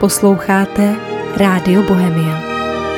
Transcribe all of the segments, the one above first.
Posloucháte Rádio Bohemia.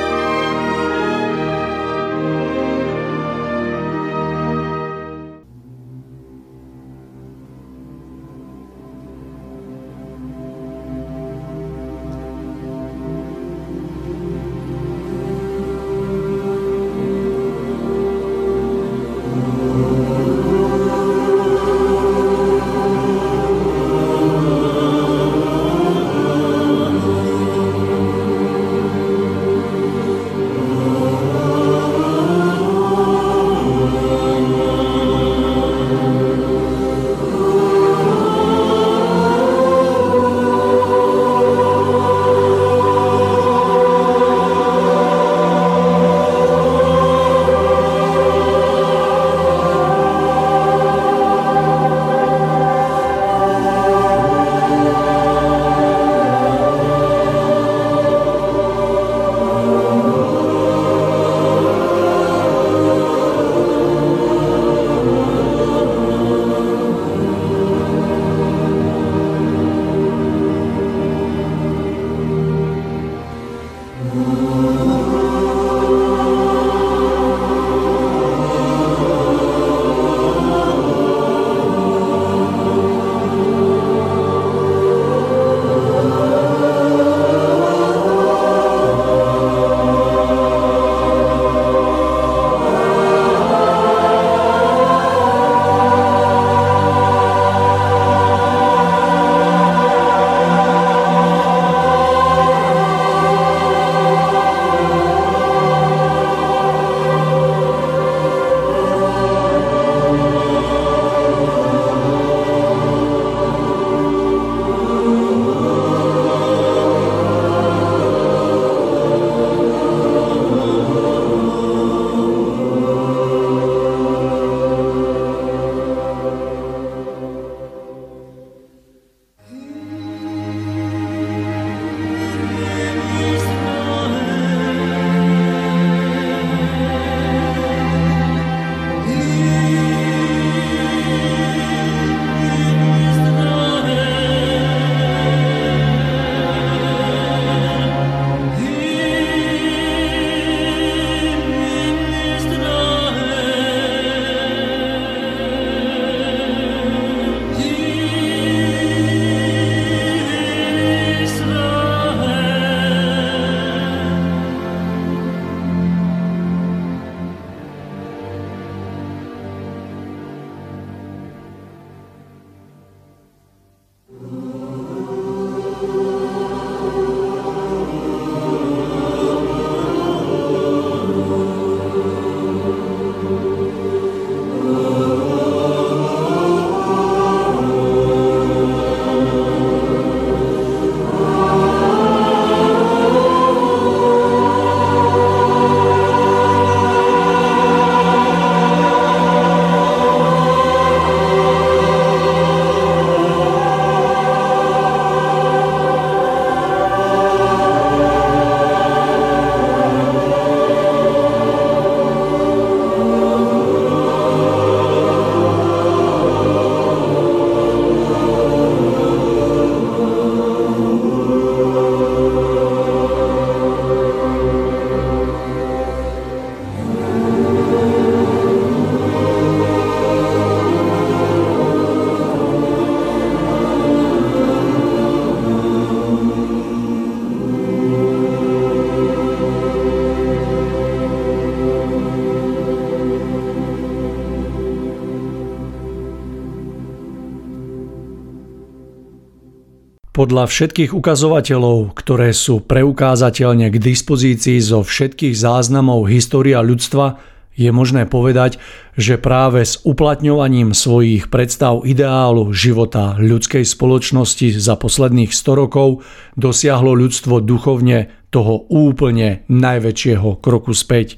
Podľa všetkých ukazovateľov, ktoré sú preukázateľne k dispozícii zo všetkých záznamov história ľudstva, je možné povedať, že práve s uplatňovaním svojich predstav ideálu života ľudskej spoločnosti za posledných 100 rokov dosiahlo ľudstvo duchovne toho úplne najväčšieho kroku späť.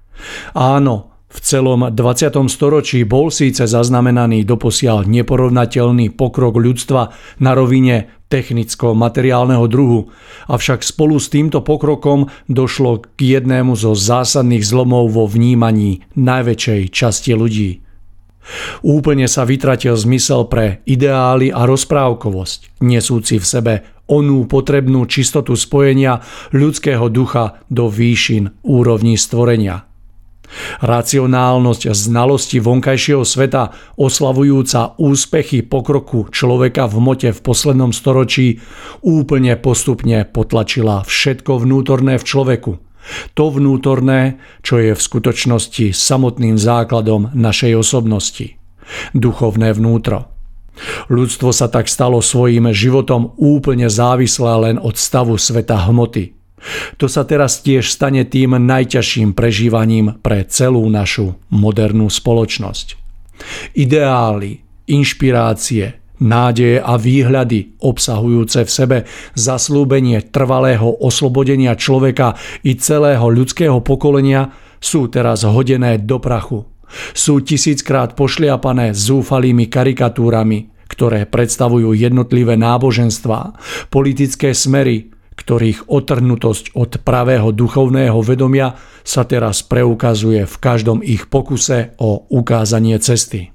Áno, v celom 20. storočí bol síce zaznamenaný doposiaľ neporovnateľný pokrok ľudstva na rovine technicko-materiálneho druhu, avšak spolu s týmto pokrokom došlo k jednému zo zásadných zlomov vo vnímaní najväčšej časti ľudí. Úplne sa vytratil zmysel pre ideály a rozprávkovosť, nesúci v sebe onú potrebnú čistotu spojenia ľudského ducha do výšin úrovní stvorenia. Racionálnosť znalosti vonkajšieho sveta, oslavujúca úspechy pokroku človeka v hmote v poslednom storočí, úplne postupne potlačila všetko vnútorné v človeku. To vnútorné, čo je v skutočnosti samotným základom našej osobnosti. Duchovné vnútro. Ľudstvo sa tak stalo svojím životom úplne závislé len od stavu sveta hmoty. To sa teraz tiež stane tým najťažším prežívaním pre celú našu modernú spoločnosť. Ideály, inšpirácie, nádeje a výhľady obsahujúce v sebe zasľúbenie trvalého oslobodenia človeka i celého ľudského pokolenia sú teraz hodené do prachu. Sú tisíckrát pošliapané zúfalými karikatúrami, ktoré predstavujú jednotlivé náboženstvá, politické smery, ktorých otrhnutosť od pravého duchovného vedomia sa teraz preukazuje v každom ich pokuse o ukázanie cesty.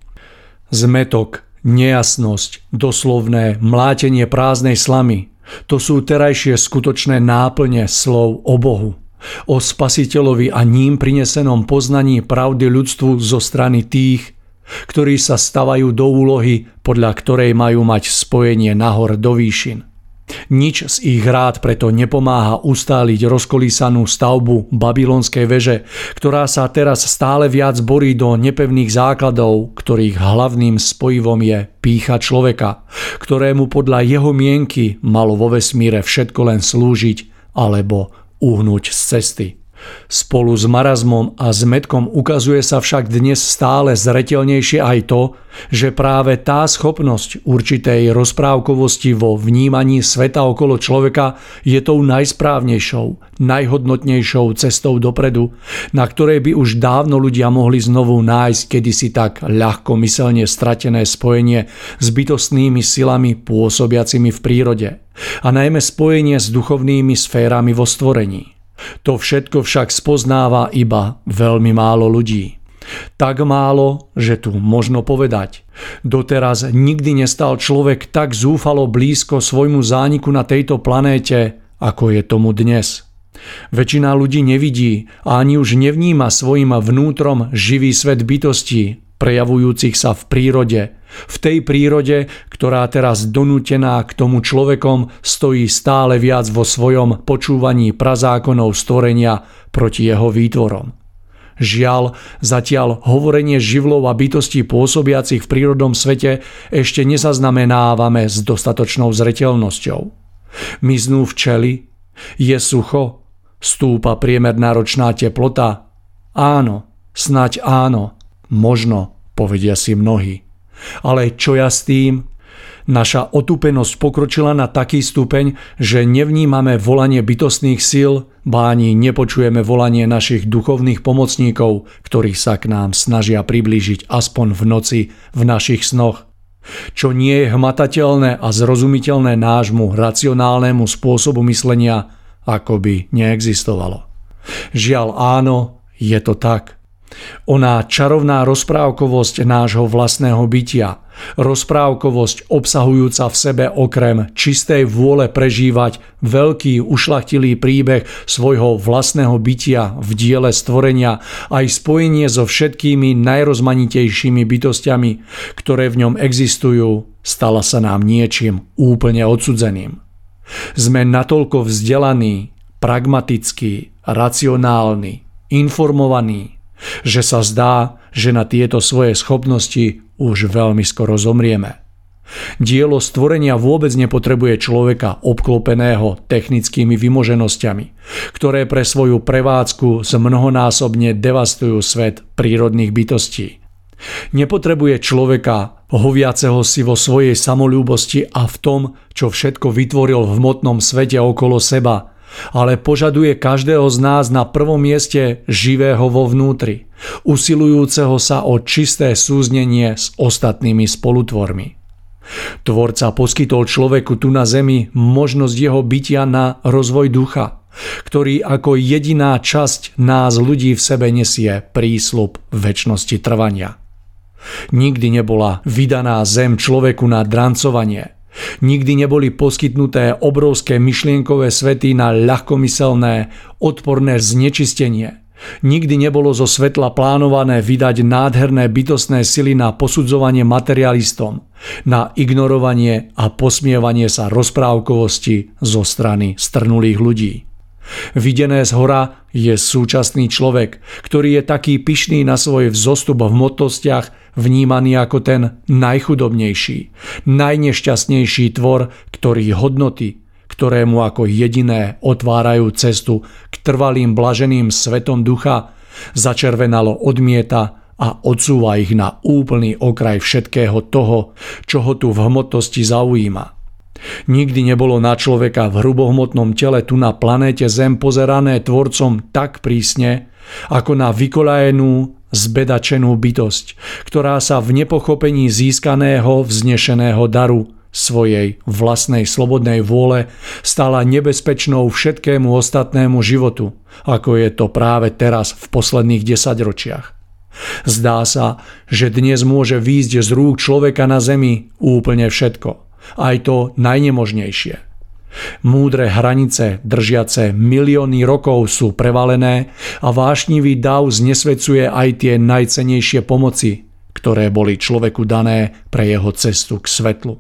Zmätok, nejasnosť, doslovné mlátenie prázdnej slamy, to sú terajšie skutočné náplne slov o Bohu, o Spasiteľovi a ním prinesenom poznaní pravdy ľudstvu zo strany tých, ktorí sa stavajú do úlohy, podľa ktorej majú mať spojenie nahor do výšin. Nič z ich rád preto nepomáha ustáliť rozkolísanú stavbu babylonskej veže, ktorá sa teraz stále viac borí do nepevných základov, ktorých hlavným spojivom je pýcha človeka, ktorému podľa jeho mienky malo vo vesmíre všetko len slúžiť alebo uhnúť z cesty. Spolu s marazmom a zmätkom ukazuje sa však dnes stále zreteľnejšie aj to, že práve tá schopnosť určitej rozprávkovosti vo vnímaní sveta okolo človeka je tou najsprávnejšou, najhodnotnejšou cestou dopredu, na ktorej by už dávno ľudia mohli znovu nájsť kedysi tak ľahkomyselne stratené spojenie s bytostnými silami pôsobiacimi v prírode a najmä spojenie s duchovnými sférami vo stvorení. To všetko však spoznáva iba veľmi málo ľudí. Tak málo, že tu možno povedať. Doteraz nikdy nestal človek tak zúfalo blízko svojmu zániku na tejto planéte, ako je tomu dnes. Väčšina ľudí nevidí a ani už nevníma svojim vnútrom živý svet bytostí, prejavujúcich sa v prírode. V tej prírode, ktorá teraz donútená k tomu človekom stojí stále viac vo svojom počúvaní prazákonov stvorenia proti jeho výtvorom. Žiaľ, zatiaľ hovorenie živlov a bytostí pôsobiacich v prírodnom svete ešte nezaznamenávame s dostatočnou zreteľnosťou. Miznú včely? Je sucho? Stúpa priemerná ročná teplota? Áno, snaď áno. Možno, povedia si mnohí. Ale čo ja s tým? Naša otúpenosť pokročila na taký stupeň, že nevnímame volanie bytostných síl, ba ani nepočujeme volanie našich duchovných pomocníkov, ktorí sa k nám snažia priblížiť aspoň v noci v našich snoch. Čo nie je hmatateľné a zrozumiteľné nášmu racionálnemu spôsobu myslenia, ako by neexistovalo. Žiaľ áno, je to tak. Oná čarovná rozprávkovosť nášho vlastného bytia, rozprávkovosť obsahujúca v sebe okrem čistej vôle prežívať veľký ušľachtilý príbeh svojho vlastného bytia v diele stvorenia aj spojenie so všetkými najrozmanitejšími bytostiami, ktoré v ňom existujú, stala sa nám niečím úplne odsudzeným. Sme natoľko vzdelaní, pragmatickí, racionálni, informovaní, že sa zdá, že na tieto svoje schopnosti už veľmi skoro zomrieme. Dielo stvorenia vôbec nepotrebuje človeka obklopeného technickými vymoženosťami, ktoré pre svoju prevádzku mnohonásobne devastujú svet prírodných bytostí. Nepotrebuje človeka hoviaceho si vo svojej samolúbosti a v tom, čo všetko vytvoril v hmotnom svete okolo seba, ale požaduje každého z nás na prvom mieste živého vo vnútri, usilujúceho sa o čisté súznenie s ostatnými spolutvormi. Tvorca poskytol človeku tu na zemi možnosť jeho bytia na rozvoj ducha, ktorý ako jediná časť nás ľudí v sebe nesie prísľub večnosti trvania. Nikdy nebola vydaná zem človeku na drancovanie. Nikdy neboli poskytnuté obrovské myšlienkové svety na ľahkomyselné, odporné znečistenie. Nikdy nebolo zo svetla plánované vydať nádherné bytostné sily na posudzovanie materialistom, na ignorovanie a posmievanie sa rozprávkovosti zo strany strnulých ľudí. Videné zhora je súčasný človek, ktorý je taký pyšný na svoj vzostup v hmotnostiach, vnímaný ako ten najchudobnejší, najnešťastnejší tvor, ktorý hodnoty, ktoré mu ako jediné otvárajú cestu k trvalým blaženým svetom ducha, začervenalo odmieta a odsúva ich na úplný okraj všetkého toho, čo ho tu v hmotnosti zaujíma. Nikdy nebolo na človeka v hrubohmotnom tele tu na planéte Zem pozerané tvorcom tak prísne, ako na vykolajenú, zbedačenú bytosť, ktorá sa v nepochopení získaného, vznešeného daru svojej vlastnej slobodnej vôle stala nebezpečnou všetkému ostatnému životu, ako je to práve teraz v posledných 10 ročiach. Zdá sa, že dnes môže výjsť z rúk človeka na zemi úplne všetko, aj to najnemožnejšie. Múdre hranice držiace milióny rokov sú prevalené a vášnivý dav znesvecuje aj tie najcennejšie pomoci, ktoré boli človeku dané pre jeho cestu k svetlu.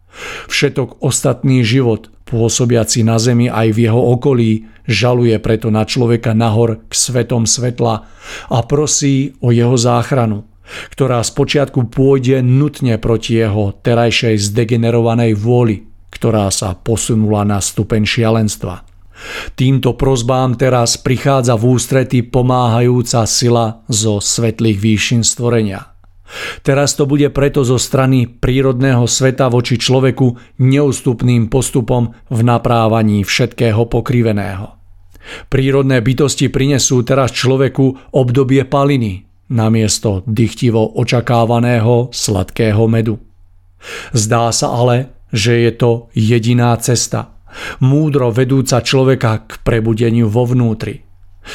Všetok ostatný život, pôsobiaci na zemi aj v jeho okolí, žaluje preto na človeka nahor k svetom svetla a prosí o jeho záchranu, ktorá spočiatku pôjde nutne proti jeho terajšej zdegenerovanej vôli, ktorá sa posunula na stupeň šialenstva. Týmto prosbám teraz prichádza v ústrety pomáhajúca sila zo svetlých výšin stvorenia. Teraz to bude preto zo strany prírodného sveta voči človeku neústupným postupom v naprávaní všetkého pokriveného. Prírodné bytosti prinesú teraz človeku obdobie paliny namiesto dychtivo očakávaného sladkého medu. Zdá sa ale, že je to jediná cesta, múdro vedúca človeka k prebudeniu vo vnútri.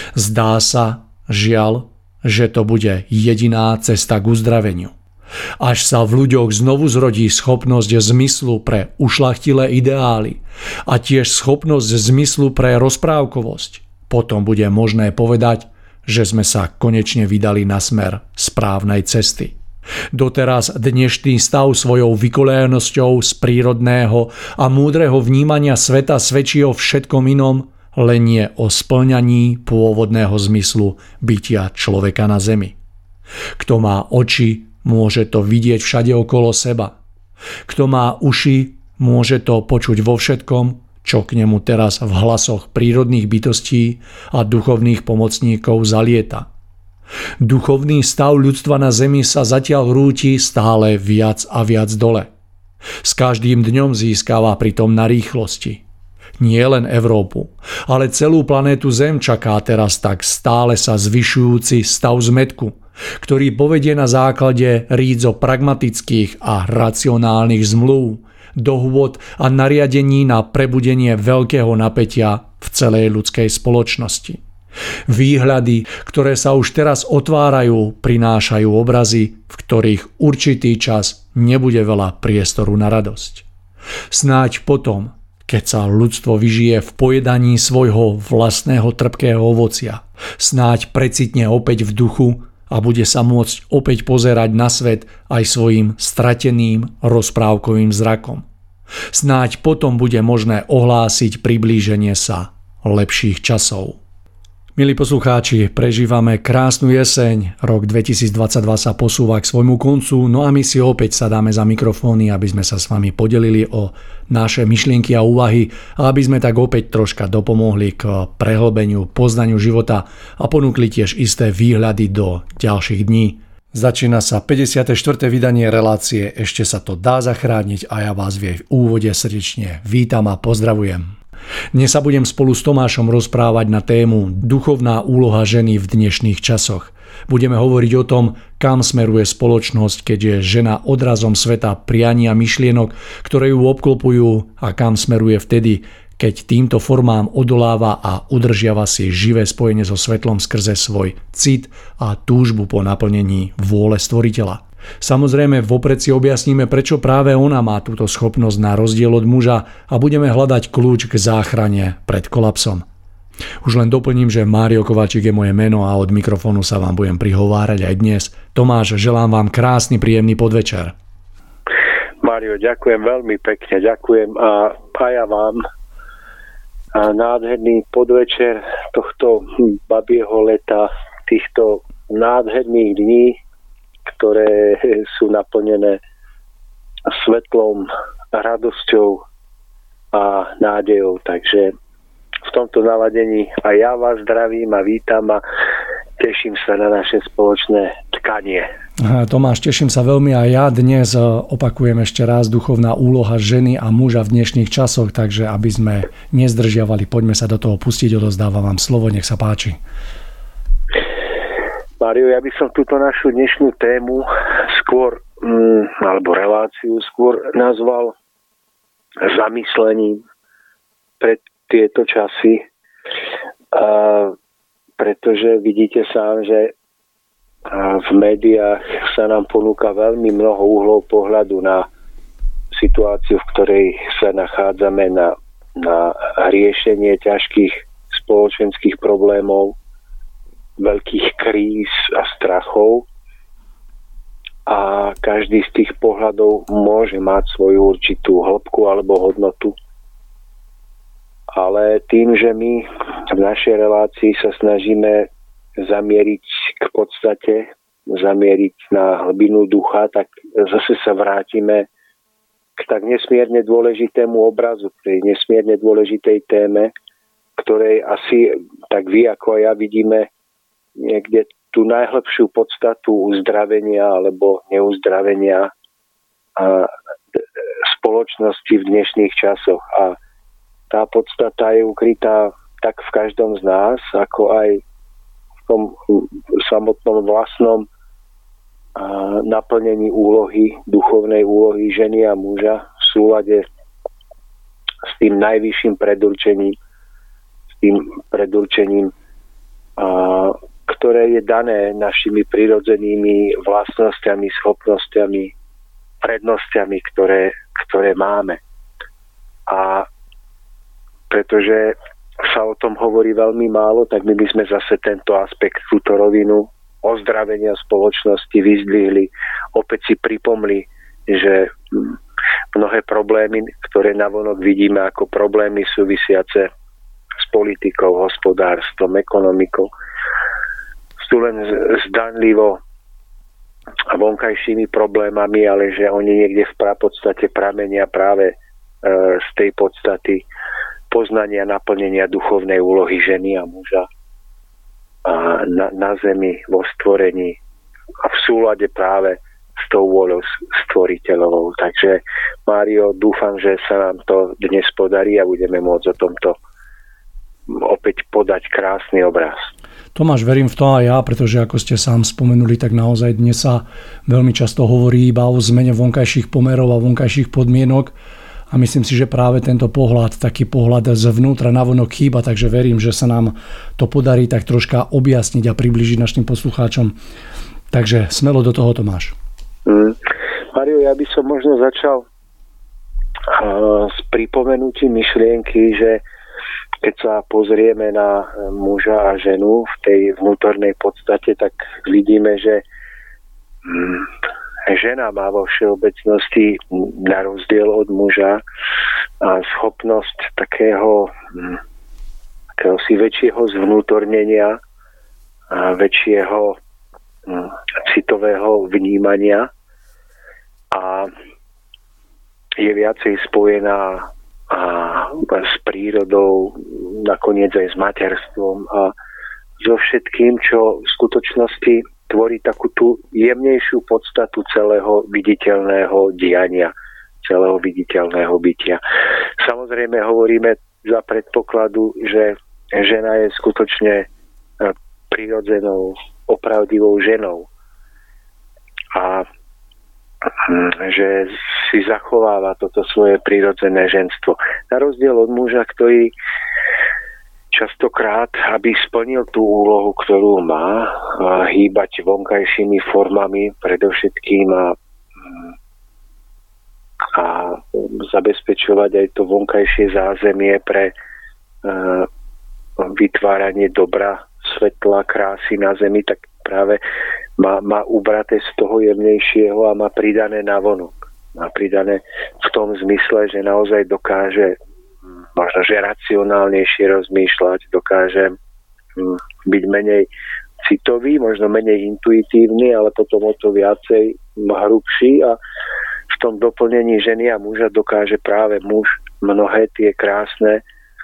Zdá sa, žiaľ, že to bude jediná cesta k uzdraveniu. Až sa v ľuďoch znovu zrodí schopnosť zmyslu pre ušľachtilé ideály a tiež schopnosť zmyslu pre rozprávkovosť, potom bude možné povedať, že sme sa konečne vydali na smer správnej cesty. Doteraz dnešný stav svojou vykolejenosťou z prírodného a múdreho vnímania sveta svedčí o všetkom inom, len nie o spĺňaní pôvodného zmyslu bytia človeka na zemi. Kto má oči, môže to vidieť všade okolo seba. Kto má uši, môže to počuť vo všetkom, čo k nemu teraz v hlasoch prírodných bytostí a duchovných pomocníkov zalieta. Duchovný stav ľudstva na zemi sa zatiaľ rúti stále viac a viac dole. S každým dňom získava pritom na rýchlosti. Nie len Európu, ale celú planétu Zem čaká teraz tak stále sa zvyšujúci stav zmätku, ktorý povedie na základe rídzo pragmatických a racionálnych zmluv, dohôd a nariadení na prebudenie veľkého napätia v celej ľudskej spoločnosti. Výhľady, ktoré sa už teraz otvárajú, prinášajú obrazy, v ktorých určitý čas nebude veľa priestoru na radosť. Snáď potom, keď sa ľudstvo vyžije v pojedaní svojho vlastného trpkého ovocia, snáď precitne opäť v duchu a bude sa môcť opäť pozerať na svet aj svojim strateným rozprávkovým zrakom. Snáď potom bude možné ohlásiť priblíženie sa lepších časov. Milí poslucháči, prežívame krásnu jeseň, rok 2022 sa posúva k svojmu koncu, no a my si opäť sadáme za mikrofóny, aby sme sa s vami podelili o naše myšlienky a úvahy a aby sme tak opäť troška dopomohli k prehlbeniu, poznaniu života a ponúkli tiež isté výhľady do ďalších dní. Začína sa 54. vydanie relácie Ešte sa to dá zachrániť a ja vás v jej úvode srdečne vítam a pozdravujem. Dnes sa budem spolu s Tomášom rozprávať na tému Duchovná úloha ženy v dnešných časoch. Budeme hovoriť o tom, kam smeruje spoločnosť, keď je žena odrazom sveta priania myšlienok, ktoré ju obklopujú, a kam smeruje vtedy, keď týmto formám odoláva a udržiava si živé spojenie so svetlom skrze svoj cit a túžbu po naplnení vôle stvoriteľa. Samozrejme, vopred si objasníme, prečo práve ona má túto schopnosť na rozdiel od muža a budeme hľadať kľúč k záchrane pred kolapsom. Už len doplním, že Mário Kováčik je moje meno a od mikrofónu sa vám budem prihovárať aj dnes. Tomáš, želám vám krásny, príjemný podvečer. Mário, ďakujem veľmi pekne, ďakujem a ja vám nádherný podvečer tohto babieho leta, týchto nádherných dní, ktoré sú naplnené svetlom, radosťou a nádejou. Takže v tomto naladení aj ja vás zdravím a vítam a teším sa na naše spoločné tkanie. Tomáš, teším sa veľmi a ja dnes opakujem ešte raz duchovná úloha ženy a muža v dnešných časoch, takže aby sme nezdržiavali, poďme sa do toho pustiť, odozdávam vám slovo, nech sa páči. Mário, ja by som túto našu dnešnú tému skôr, alebo reláciu skôr nazval zamyslením pred tieto časy, pretože vidíte sám, že v médiách sa nám ponúka veľmi mnoho uhlov pohľadu na situáciu, v ktorej sa nachádzame, na riešenie ťažkých spoločenských problémov, veľkých kríz a strachov a každý z tých pohľadov môže mať svoju určitú hĺbku alebo hodnotu. Ale tým, že my v našej relácii sa snažíme zamieriť k podstate, zamieriť na hlbinu ducha, tak zase sa vrátime k tak nesmierne dôležitému obrazu, k tej nesmierne dôležitej téme, ktorej asi tak vy ako ja vidíme niekde tú najhlbšiu podstatu uzdravenia alebo neuzdravenia spoločnosti v dnešných časoch. A tá podstata je ukrytá tak v každom z nás, ako aj v tom samotnom vlastnom naplnení úlohy, duchovnej úlohy ženy a muža v súlade s tým najvyšším predurčením, ktoré je dané našimi prirodzenými vlastnosťami, schopnosťami, prednosťami, ktoré máme. A pretože sa o tom hovorí veľmi málo, tak my by sme zase tento aspekt, túto rovinu ozdravenia spoločnosti vyzdvihli. Opäť si pripomli, že mnohé problémy, ktoré navonok vidíme ako problémy súvisiace s politikou, hospodárstvom, ekonomikou, sú len zdanlivo vonkajšími problémami, ale že oni niekde v prapodstate pramenia práve z tej podstaty poznania, naplnenia duchovnej úlohy ženy a muža na zemi, vo stvorení a v súlade práve s tou vôľou stvoriteľovou. Takže Mário, dúfam, že sa nám to dnes podarí a budeme môcť o tomto opäť podať krásny obraz. Tomáš, verím v to aj ja, pretože ako ste sám spomenuli, tak naozaj dnes sa veľmi často hovorí iba o zmene vonkajších pomerov a vonkajších podmienok a myslím si, že práve tento pohľad, taký pohľad zvnútra navonok chýba, takže verím, že sa nám to podarí tak troška objasniť a priblížiť našim poslucháčom. Takže smelo do toho, Tomáš. Mário, ja by som možno začal s pripomenutím myšlienky, že keď sa pozrieme na muža a ženu v tej vnútornej podstate, tak vidíme, že žena má vo všeobecnosti na rozdiel od muža schopnosť takého si väčšieho zvnútornenia a väčšieho citového vnímania a je viacej spojená s prírodou, nakoniec aj s materstvom a so všetkým, čo v skutočnosti tvorí takú tú jemnejšiu podstatu celého viditeľného diania, celého viditeľného bytia. Samozrejme hovoríme za predpokladu, že žena je skutočne prirodzenou, opravdivou ženou a že si zachováva toto svoje prirodzené ženstvo. Na rozdiel od muža, ktorý častokrát, aby splnil tú úlohu, ktorú má, hýbať vonkajšími formami, predovšetkým a zabezpečovať aj to vonkajšie zázemie pre vytváranie dobra, svetla, krásy na zemi, tak práve má ubraté z toho jemnejšieho a má pridané navonok. Má pridané v tom zmysle, že naozaj dokáže možno, že racionálnejšie rozmýšľať, dokáže byť menej citový, možno menej intuitívny, ale potom o to viacej hrubší a v tom doplnení ženy a muža dokáže práve muž mnohé tie krásne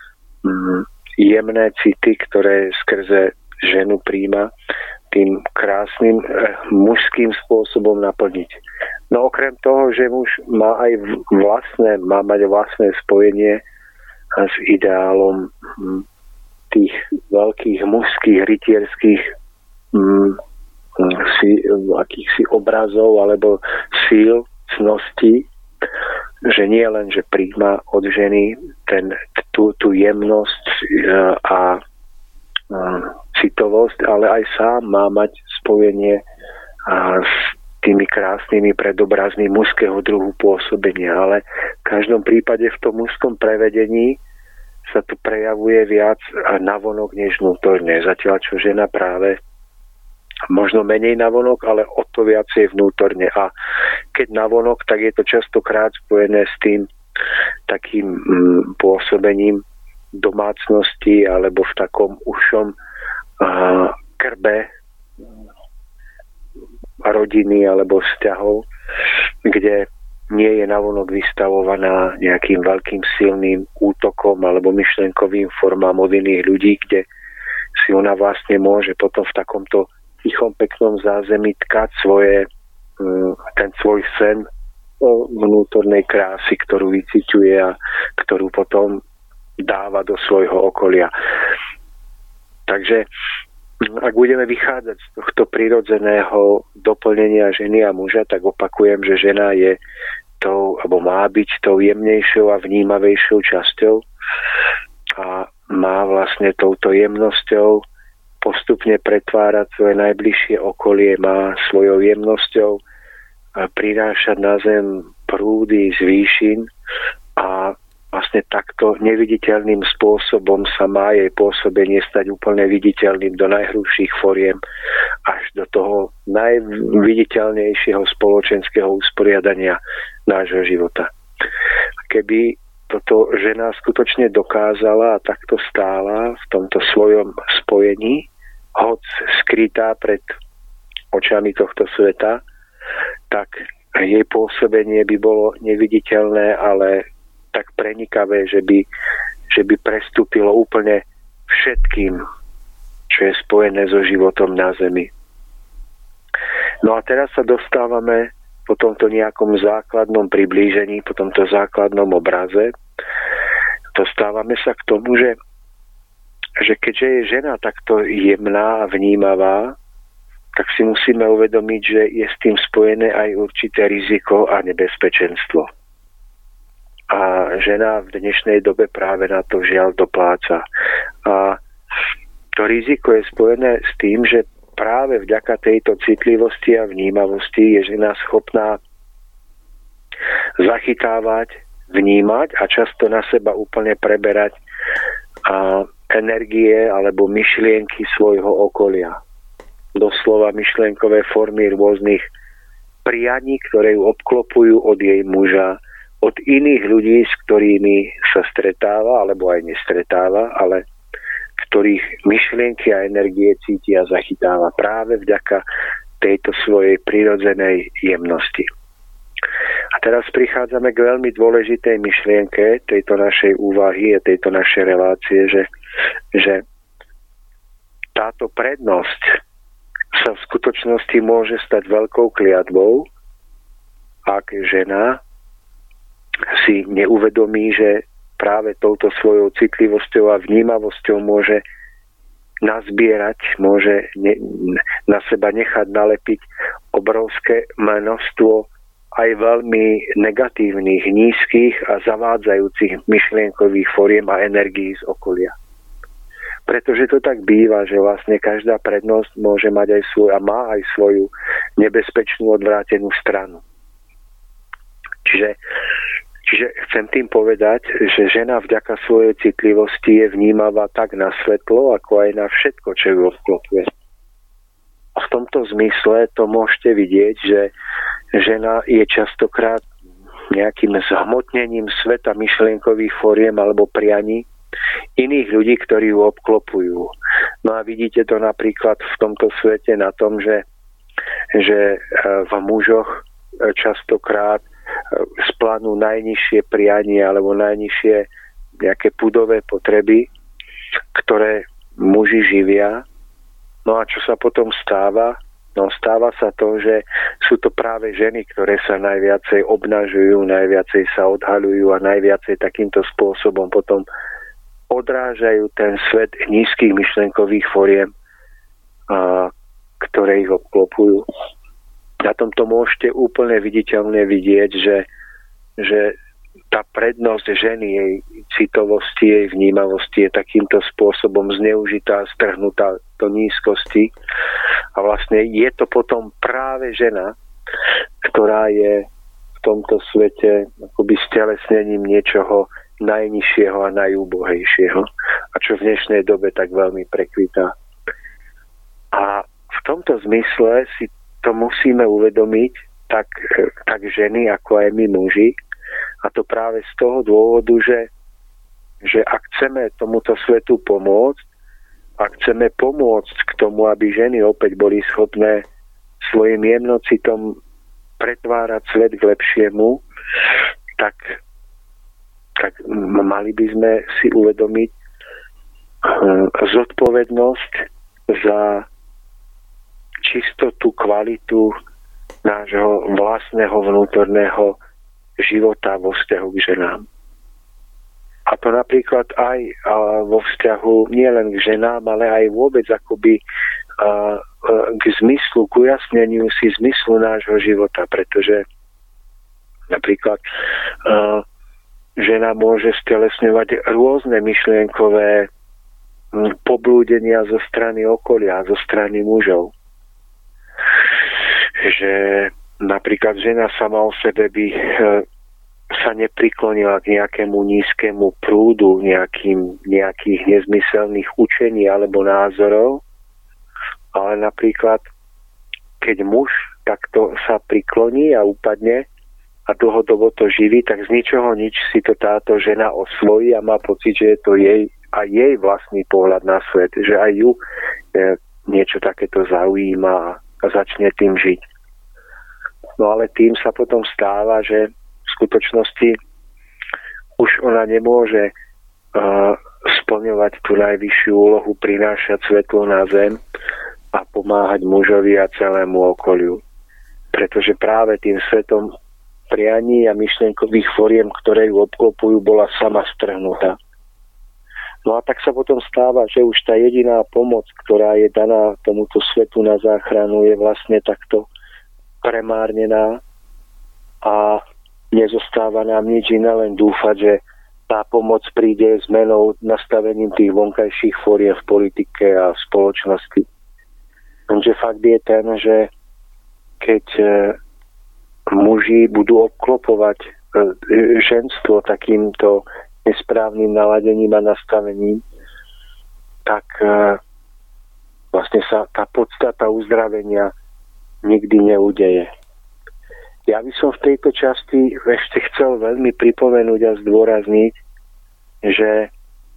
jemné city, ktoré skrze ženu príjma, tým krásnym mužským spôsobom naplniť. No okrem toho, že muž má aj má mať vlastné spojenie s ideálom tých veľkých mužských, rytierských akýchsi obrazov alebo síl, cností, že nie len, že príjma od ženy tú jemnosť a citovosť, ale aj sám má mať spojenie s tými krásnymi predobrazmi mužského druhu pôsobenia. Ale v každom prípade v tom mužskom prevedení sa tu prejavuje viac navonok než vnútorne. Zatiaľ, čo žena práve možno menej navonok, ale o to viacej vnútorne. A keď navonok, tak je to častokrát spojené s tým takým pôsobením domácnosti alebo v takom ušom krbe rodiny alebo vzťahov, kde nie je navonok vystavovaná nejakým veľkým silným útokom alebo myšlenkovým formám od iných ľudí, kde si ona vlastne môže potom v takomto tichom, peknom zázemí tkať ten svoj sen vnútornej krásy, ktorú vyciťuje a ktorú potom dáva do svojho okolia. Takže ak budeme vychádzať z tohto prirodzeného doplnenia ženy a muža, tak opakujem, že žena je tou, alebo má byť tou jemnejšou a vnímavejšou časťou a má vlastne touto jemnosťou postupne pretvárať svoje najbližšie okolie, má svojou jemnosťou prinášať na zem prúdy z výšin a vlastne takto neviditeľným spôsobom sa má jej pôsobenie stať úplne viditeľným do najhrubších foriem až do toho najviditeľnejšieho spoločenského usporiadania nášho života. Keby toto žena skutočne dokázala a takto stála v tomto svojom spojení, hoc skrytá pred očami tohto sveta, tak jej pôsobenie by bolo neviditeľné, ale tak prenikavé, že by prestúpilo úplne všetkým, čo je spojené so životom na zemi. No a teraz sa dostávame po tomto nejakom základnom priblížení, po tomto základnom obraze, dostávame sa k tomu, že keďže je žena takto jemná a vnímavá, tak si musíme uvedomiť, že je s tým spojené aj určité riziko a nebezpečenstvo. A žena v dnešnej dobe práve na to žiaľ dopláca. A to riziko je spojené s tým, že práve vďaka tejto citlivosti a vnímavosti je žena schopná zachytávať, vnímať a často na seba úplne preberať energie alebo myšlienky svojho okolia. Doslova myšlienkové formy rôznych prianí, ktoré ju obklopujú od jej muža, od iných ľudí, s ktorými sa stretáva, alebo aj nestretáva, ale ktorých myšlienky a energie cíti a zachytáva práve vďaka tejto svojej prirodzenej jemnosti. A teraz prichádzame k veľmi dôležitej myšlienke tejto našej úvahy a tejto našej relácie, že táto prednosť sa v skutočnosti môže stať veľkou kliatbou, ak žena si neuvedomí, že práve touto svojou citlivosťou a vnímavosťou môže nazbierať, môže na seba nechať nalepiť obrovské množstvo aj veľmi negatívnych, nízkych a zavádzajúcich myšlienkových foriem a energií z okolia. Pretože to tak býva, že vlastne každá prednosť môže mať aj svoj a má aj svoju nebezpečnú odvrátenú stranu. Čiže chcem tým povedať, že žena vďaka svojej citlivosti je vnímavá tak na svetlo, ako aj na všetko, čo ju obklopuje. A v tomto zmysle to môžete vidieť, že žena je častokrát nejakým zhmotnením sveta myšlienkových foriem alebo prianí iných ľudí, ktorí ju obklopujú. No a vidíte to napríklad v tomto svete na tom, že v mužoch častokrát splanú najnižšie prianie alebo najnižšie nejaké pudové potreby, ktoré muži živia. No a čo sa potom stáva? No stáva sa to, že sú to práve ženy, ktoré sa najviacej obnažujú, najviacej sa odhaľujú a najviacej takýmto spôsobom potom odrážajú ten svet nízkych myšlenkových foriem, ktoré ich obklopujú. Na tomto môžete úplne viditeľne vidieť, že tá prednosť ženy, jej citovosti, jej vnímavosti je takýmto spôsobom zneužitá, strhnutá do nízkosti. A vlastne je to potom práve žena, ktorá je v tomto svete akoby stelesnením niečoho najnižšieho a najúbohejšieho. A čo v dnešnej dobe tak veľmi prekvitá. A v tomto zmysle si to musíme uvedomiť tak ženy, ako aj my muži. A to práve z toho dôvodu, že ak chceme tomuto svetu pomôcť, ak chceme pomôcť k tomu, aby ženy opäť boli schopné svojim jemnocitom pretvárať svet k lepšiemu, tak mali by sme si uvedomiť zodpovednosť za čistotu, kvalitu nášho vlastného vnútorného života vo vzťahu k ženám. A to napríklad aj vo vzťahu nielen k ženám, ale aj vôbec akoby k zmyslu, k ujasneniu si zmyslu nášho života, pretože napríklad žena môže stelesňovať rôzne myšlienkové poblúdenia zo strany okolia, zo strany mužov. Že napríklad žena sama o sebe by sa nepriklonila k nejakému nízkemu prúdu nejakých nezmyselných učení alebo názorov, ale napríklad keď muž takto sa prikloní a upadne a dlhodobo to živí, tak z ničoho nič si to táto žena osvojí a má pocit, že je to jej vlastný pohľad na svet, že aj ju niečo takéto zaujíma a začne tým žiť. No ale tým sa potom stáva, že v skutočnosti už ona nemôže splňovať tú najvyššiu úlohu, prinášať svetlo na zem a pomáhať mužovi a celému okoliu. Pretože práve tým svetom prianí a myšlienkových foriem, ktoré ju obklopujú, bola sama strhnutá. No a tak sa potom stáva, že už tá jediná pomoc, ktorá je daná tomuto svetu na záchranu, je vlastne takto premárnená a nezostáva nám nič iné, len dúfať, že tá pomoc príde zmenou, nastavením tých vonkajších foriem v politike a v spoločnosti. Takže fakt je ten, že keď muži budú obklopovať ženstvo takýmto nesprávnym naladením a nastavením, tak vlastne sa tá podstata uzdravenia nikdy neudeje. Ja by som v tejto časti ešte chcel veľmi pripomenúť a zdôrazniť, že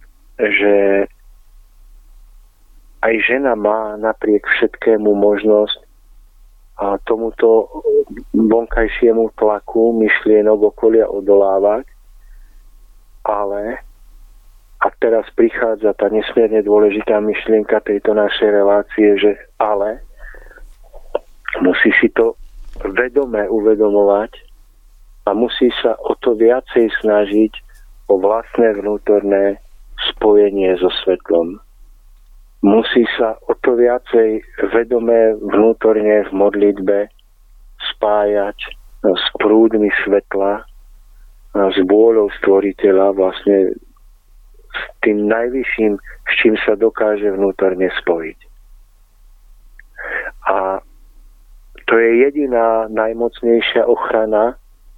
aj žena má napriek všetkému možnosť tomuto vonkajšiemu tlaku myšlienok okolia odolávať, ale, a teraz prichádza tá nesmierne dôležitá myšlienka tejto našej relácie, že ale musí si to vedome uvedomovať a musí sa o to viacej snažiť o vlastné vnútorné spojenie so svetlom. Musí sa o to viacej vedome vnútorne v modlitbe spájať s prúdmi svetla, s vôľou stvoriteľa, vlastne s tým najvyšším, s čím sa dokáže vnútorne spojiť. A to je jediná najmocnejšia ochrana,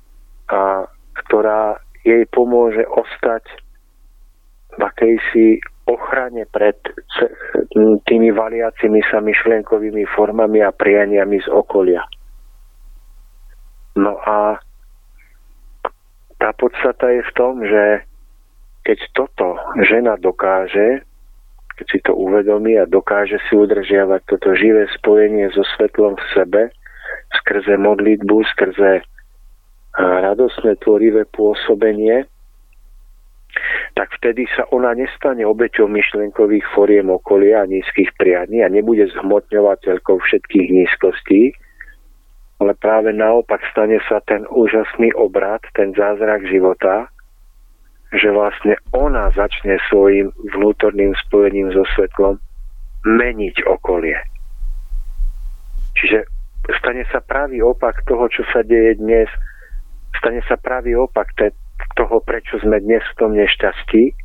ktorá jej pomôže ostať v akejsi ochrane pred tými valiacimi sa myšlienkovými formami a prianiami z okolia. No a tá podstata je v tom, že keď toto žena dokáže, keď si to uvedomí a dokáže si udržiavať toto živé spojenie so svetlom v sebe, skrze modlitbu, skrze radosné tvorivé pôsobenie, tak vtedy sa ona nestane obeťou myšlienkových foriem okolia a nízkych prianí a nebude zhmotňovateľkou všetkých nízkostí, ale práve naopak stane sa ten úžasný obrat, ten zázrak života, že vlastne ona začne svojim vnútorným spojením so svetlom meniť okolie. Čiže stane sa pravý opak toho, čo sa deje dnes, stane sa pravý opak toho, prečo sme dnes v tom nešťastí,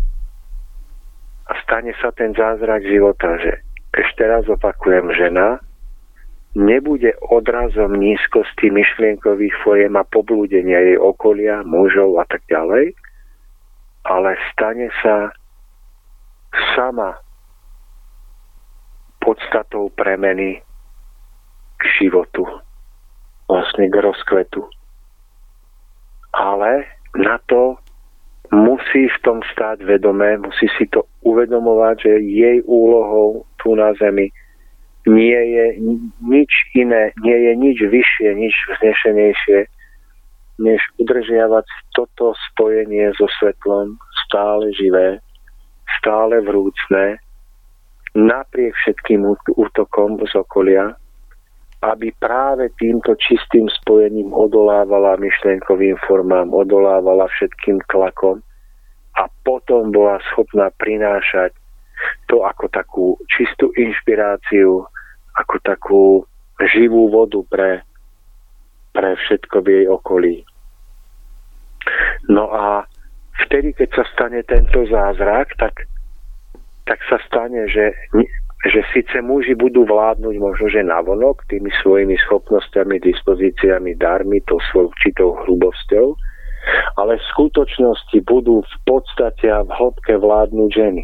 a stane sa ten zázrak života, že ešte raz opakujem, žena nebude odrazom nízkosti myšlienkových foriem a poblúdenia jej okolia, mužov a tak ďalej, ale stane sa sama podstatou premeny k životu, vlastne k rozkvetu. Ale na to musí v tom stáť vedomé, musí si to uvedomovať, že jej úlohou tu na zemi nie je nič iné, nie je nič vyššie, nič vznešenejšie, než udržiavať toto spojenie so svetlom stále živé, stále vrúcne, napriek všetkým útokom z okolia, aby práve týmto čistým spojením odolávala myšlienkovým formám, odolávala všetkým tlakom a potom bola schopná prinášať to ako takú čistú inšpiráciu, ako takú živú vodu pre všetko v jej okolí. No a vtedy, keď sa stane tento zázrak, tak sa stane, že síce muži budú vládnuť možno, že navonok tými svojimi schopnosťami, dispozíciami, darmi, tou svojou určitou hrubosťou, ale v skutočnosti budú v podstate a v hĺbke vládnuť ženy.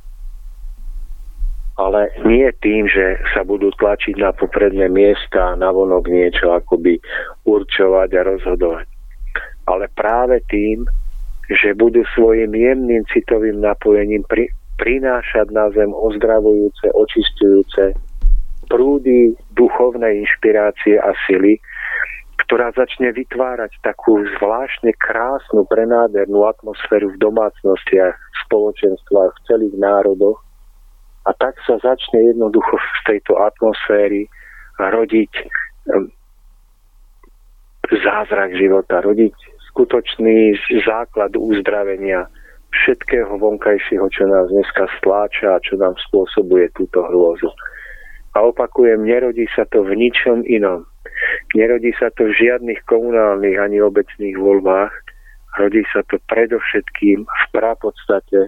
Ale nie tým, že sa budú tlačiť na popredné miesta a navonok niečo akoby určovať a rozhodovať. Ale práve tým, že budú svojim jemným citovým napojením prinášať na zem ozdravujúce, očisťujúce prúdy duchovnej inšpirácie a sily, ktorá začne vytvárať takú zvláštne krásnu, prenádhernú atmosféru v domácnostiach, v spoločenstvách, v celých národoch. A tak sa začne jednoducho z tejto atmosféry rodiť zázrak života, rodiť skutočný základ uzdravenia všetkého vonkajšieho, čo nás dneska stláča a čo nám spôsobuje túto hrôzu. A opakujem, nerodí sa to v ničom inom. Nerodí sa to v žiadnych komunálnych ani obecných voľbách. Rodí sa to predovšetkým v prapodstate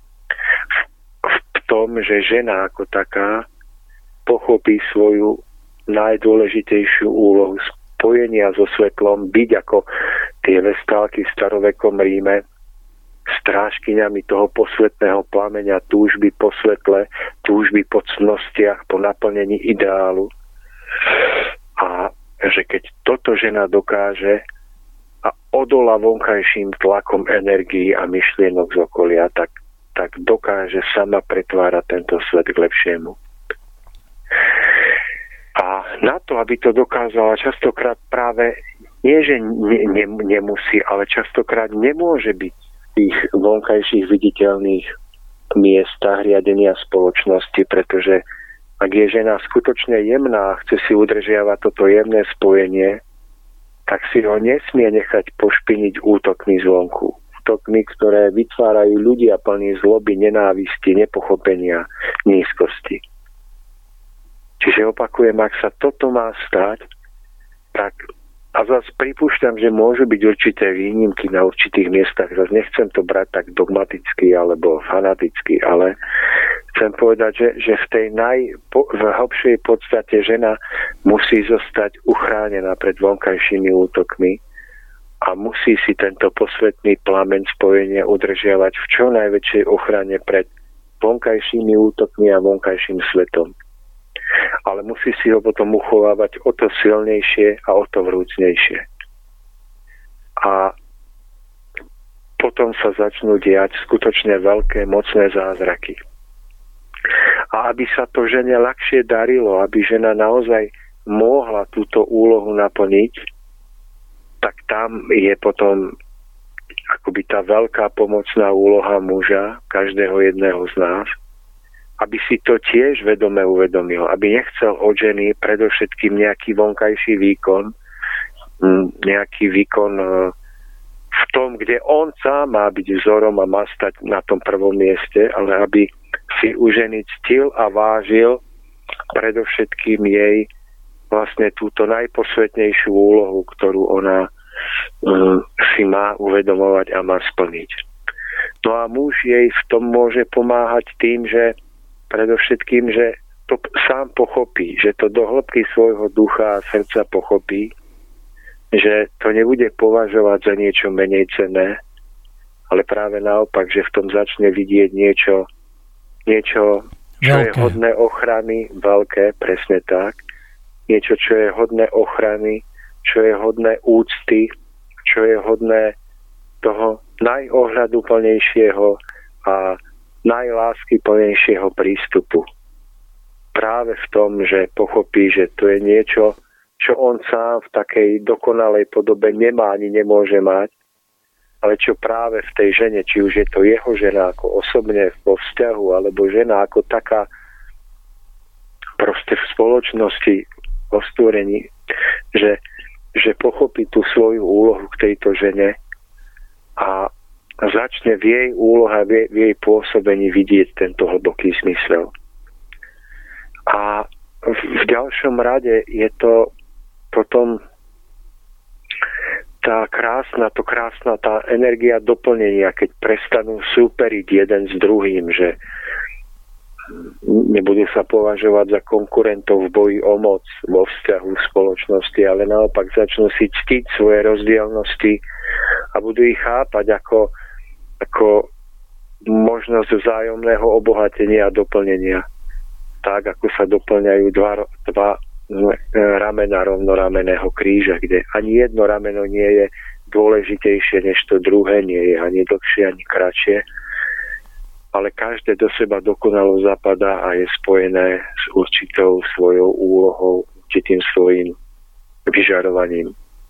v tom, že žena ako taká pochopí svoju najdôležitejšiu úlohu spojenia so svetlom, byť ako tie vestálky v starovekom Ríme, strážkyňami toho posvetného plameňa, túžby po svetle, túžby po cnostiach, po naplnení ideálu. A že keď toto žena dokáže a odolá vonkajším tlakom energií a myšlienok z okolia, tak dokáže sama pretvárať tento svet k lepšiemu. A na to, aby to dokázala, častokrát práve nie, že nemusí, ale častokrát nemôže byť v tých vonkajších viditeľných miestach riadenia spoločnosti, pretože ak je žena skutočne jemná a chce si udržiavať toto jemné spojenie, tak si ho nesmie nechať pošpiniť útokmi zvonku. Útokmi, ktoré vytvárajú ľudia plní zloby, nenávisti, nepochopenia, nízkosti. Čiže opakujem, ak sa toto má stať, tak A zase pripúšťam, že môžu byť určité výnimky na určitých miestach. Zase nechcem to brať tak dogmaticky alebo fanaticky, ale chcem povedať, že v tej najhlbšej podstate žena musí zostať uchránená pred vonkajšími útokmi a musí si tento posvetný plameň spojenia udržiavať v čo najväčšej ochrane pred vonkajšími útokmi a vonkajším svetom. Ale musí si ho potom uchovávať o to silnejšie a o to vrúcnejšie. A potom sa začnú diať skutočne veľké, mocné zázraky. A aby sa to žene ľahšie darilo, aby žena naozaj mohla túto úlohu naplniť, tak tam je potom akoby tá veľká pomocná úloha muža, každého jedného z nás, aby si to tiež vedome uvedomil, aby nechcel od ženy predovšetkým nejaký vonkajší výkon, nejaký výkon v tom, kde on sám má byť vzorom a má stať na tom prvom mieste, ale aby si u ženy ctil a vážil predovšetkým jej vlastne túto najposvetnejšiu úlohu, ktorú ona si má uvedomovať a má splniť. No a muž jej v tom môže pomáhať tým, že predovšetkým, že to sám pochopí, že to do hĺbky svojho ducha a srdca pochopí, že to nebude považovať za niečo menej cenné, ale práve naopak, že v tom začne vidieť niečo, čo je hodné ochrany, veľké, presne tak, niečo, čo je hodné ochrany, čo je hodné úcty, čo je hodné toho najohľaduplnejšieho a najláskyplnejšieho prístupu. Práve v tom, že pochopí, že to je niečo, čo on sám v takej dokonalej podobe nemá ani nemôže mať, ale čo práve v tej žene, či už je to jeho žena ako osobne vo vzťahu, alebo žena ako taká proste v spoločnosti, vo stvorení, že pochopí tú svoju úlohu k tejto žene a začne v jej úlohe, v jej pôsobení vidieť tento hlboký zmysel. A v ďalšom rade je to potom tá krásna tá energia doplnenia, keď prestanú súperiť jeden s druhým, že nebudú sa považovať za konkurentov v boji o moc vo vzťahu v spoločnosti, ale naopak začnú si ctiť svoje rozdielnosti a budú ich chápať ako možnosť vzájomného obohatenia a doplnenia. Tak, ako sa doplňajú dva ramena rovnoramenného kríža, kde ani jedno rameno nie je dôležitejšie než to druhé, nie je ani dlhšie, ani kratšie, ale každé do seba dokonalo zapadá a je spojené s určitou svojou úlohou, určitým svojím vyžarovaním.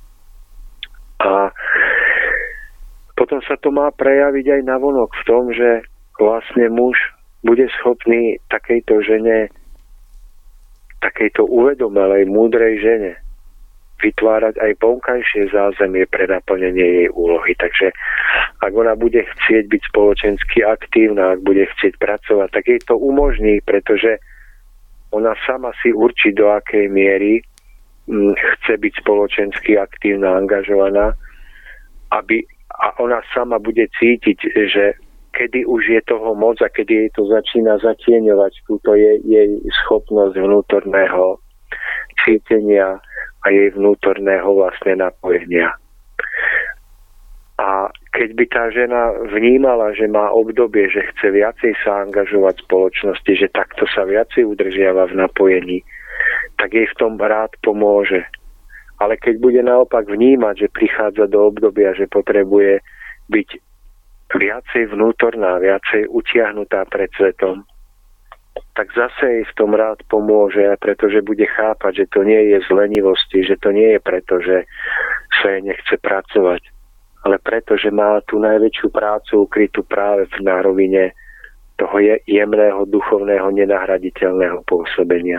A potom sa to má prejaviť aj navonok v tom, že vlastne muž bude schopný takejto žene, takejto uvedomelej, múdrej žene vytvárať aj vonkajšie zázemie pre naplnenie jej úlohy. Takže ak ona bude chcieť byť spoločensky aktívna, ak bude chcieť pracovať, tak jej to umožní, pretože ona sama si určí, do akej miery chce byť spoločensky aktívna, angažovaná, a ona sama bude cítiť, že kedy už je toho moc a kedy jej to začína zatieňovať túto jej schopnosť vnútorného cítenia a jej vnútorného vlastne napojenia. A keď by tá žena vnímala, že má obdobie, že chce viacej sa angažovať v spoločnosti, že takto sa viacej udržiava v napojení, tak jej v tom rád pomôže. Ale keď bude naopak vnímať, že prichádza do obdobia, že potrebuje byť viacej vnútorná, viacej utiahnutá pred svetom, tak zase jej v tom rád pomôže, pretože bude chápať, že to nie je z lenivosti, že to nie je preto, že sa jej nechce pracovať, ale preto, že má tú najväčšiu prácu ukrytú práve na rovine toho jemného, duchovného, nenahraditeľného pôsobenia.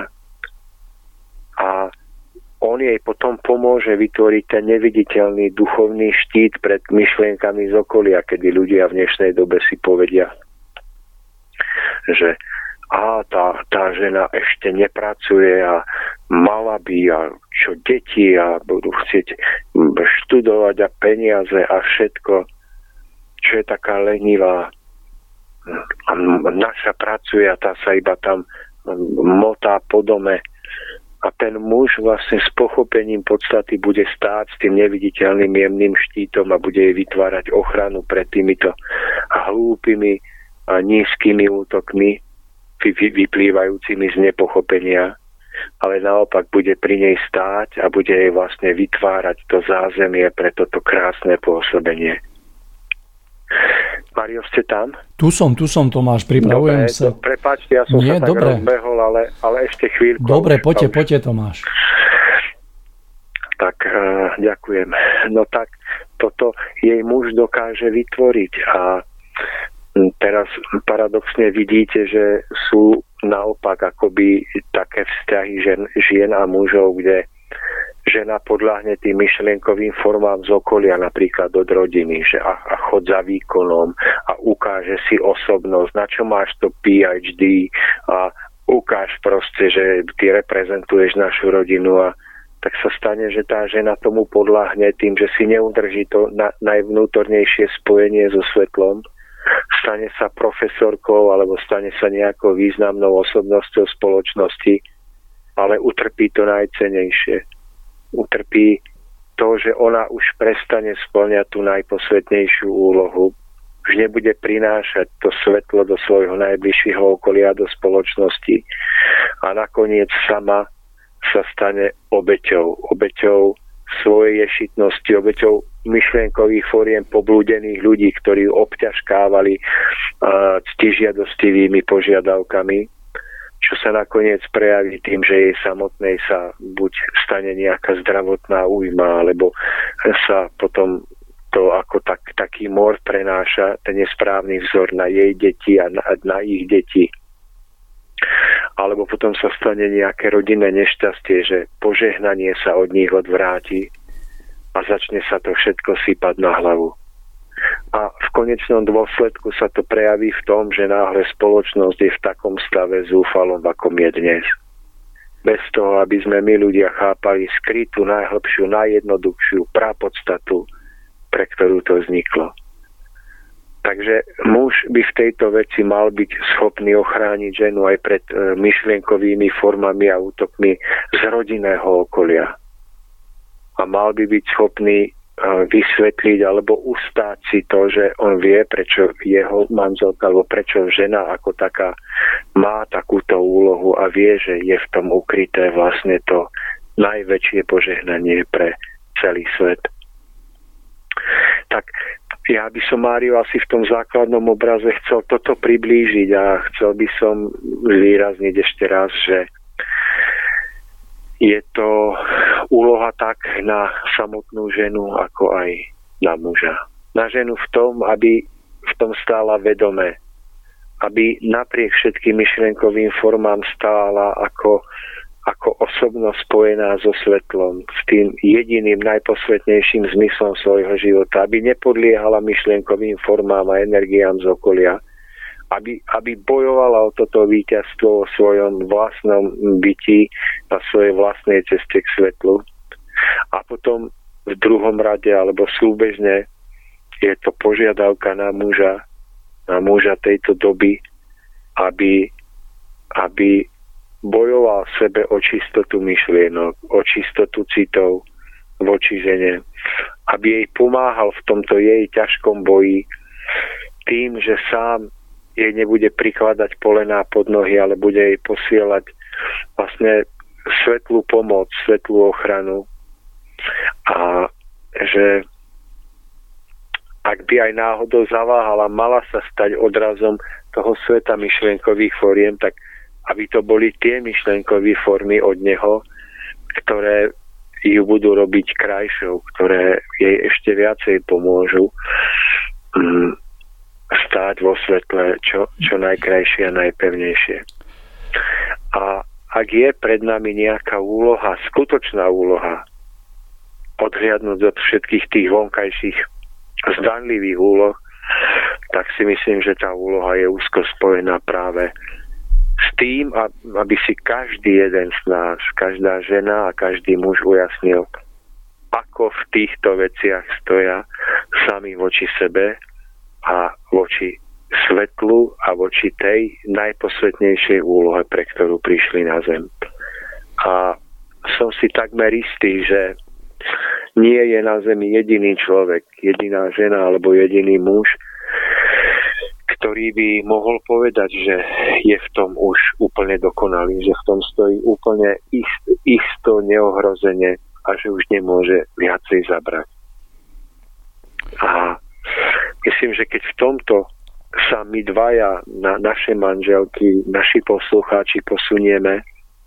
A on jej potom pomôže vytvoriť ten neviditeľný duchovný štít pred myšlienkami z okolia, kedy ľudia v dnešnej dobe si povedia, že tá žena ešte nepracuje a mala by a čo deti a budú chcieť študovať a peniaze a všetko, čo je taká lenivá. A naša pracuje a tá sa iba tam motá po dome. A ten muž vlastne s pochopením podstaty bude stáť s tým neviditeľným jemným štítom a bude jej vytvárať ochranu pred týmito hlúpymi a nízkymi útokmi vyplývajúcimi z nepochopenia, ale naopak bude pri nej stáť a bude jej vlastne vytvárať to zázemie pre toto krásne pôsobenie. Mário, ste tam? Tu som, Tomáš, pripravujem sa. Prepáčte, ja som sa tak rozbehol, ale ešte chvíľku. Dobre, poďte, Tomáš. Tak, ďakujem. No tak, toto jej muž dokáže vytvoriť a teraz paradoxne vidíte, že sú naopak akoby také vzťahy žien a mužov, kde žena podľahne tým myšlienkovým formám z okolia, napríklad od rodiny, že a chod za výkonom a ukáže si osobnosť, na čo máš to PhD a ukáž proste, že ty reprezentuješ našu rodinu a tak sa stane, že tá žena tomu podľahne tým, že si neudrží to najvnútornejšie spojenie so svetlom, stane sa profesorkou alebo stane sa nejakou významnou osobnosťou spoločnosti, ale utrpí to najcennejšie. Utrpí to, že ona už prestane spĺňať tú najposvetnejšiu úlohu, už nebude prinášať to svetlo do svojho najbližšieho okolia, do spoločnosti a nakoniec sama sa stane obeťou svojej ješitnosti, obeťou myšlienkových fóriem poblúdených ľudí, ktorí obťažkávali ctižiadostivými požiadavkami, čo sa nakoniec prejaví tým, že jej samotnej sa buď stane nejaká zdravotná újma, alebo sa potom to ako taký mor prenáša ten nesprávny vzor na jej deti a na ich deti. Alebo potom sa stane nejaké rodinné nešťastie, že požehnanie sa od nich odvráti a začne sa to všetko sypať na hlavu. A v konečnom dôsledku sa to prejaví v tom, že náhle spoločnosť je v takom stave zúfalom, akom je dnes. Bez toho, aby sme my ľudia chápali skrytú, najhlbšiu, najjednoduchšiu prapodstatu, pre ktorú to vzniklo. Takže muž by v tejto veci mal byť schopný ochrániť ženu aj pred myšlienkovými formami a útokmi z rodinného okolia. A mal by byť schopný vysvetliť alebo ustáť si to, že on vie, prečo jeho manželka alebo prečo žena ako taká má takúto úlohu a vie, že je v tom ukryté vlastne to najväčšie požehnanie pre celý svet. Tak ja by som, Mário, asi v tom základnom obraze chcel toto priblížiť a chcel by som zvýrazniť ešte raz, že je to úloha tak na samotnú ženu, ako aj na muža. Na ženu v tom, aby v tom stála vedome, aby napriek všetkým myšlienkovým formám stála ako osobnosť spojená so svetlom, s tým jediným najposvetnejším zmyslom svojho života, aby nepodliehala myšlienkovým formám a energiám z okolia, aby bojovala o toto víťazstvo o svojom vlastnom byti na svojej vlastnej ceste k svetlu. A potom v druhom rade alebo súbežne je to požiadavka na muža tejto doby, aby bojoval sebe o čistotu myšlienok, o čistotu citov voči žene, aby jej pomáhal v tomto jej ťažkom boji tým, že sám jej nebude prikladať polená pod nohy, ale bude jej posielať vlastne svetlú pomoc, svetlú ochranu. A že ak by aj náhodou zaváhala, mala sa stať odrazom toho sveta myšlienkových fóriem, tak aby to boli tie myšlienkové formy od neho, ktoré ju budú robiť krajšou, ktoré jej ešte viacej pomôžu stáť vo svetle čo najkrajšie a najpevnejšie. A ak je pred nami nejaká úloha, skutočná úloha, odhliadnúť od všetkých tých vonkajších zdanlivých úloh, tak si myslím, že tá úloha je úzko spojená práve s tým, aby si každý jeden z nás, každá žena a každý muž ujasnil, ako v týchto veciach stoja sami voči sebe a voči svetlu a voči tej najposvetnejšej úlohe, pre ktorú prišli na zem. A som si takmer istý, že nie je na zemi jediný človek, jediná žena alebo jediný muž, ktorý by mohol povedať, že je v tom už úplne dokonalý, že v tom stojí úplne isto, neohrozene a že už nemôže viacej zabrať. A myslím, že keď v tomto sa my dvaja, naše manželky, naši poslucháči posunieme,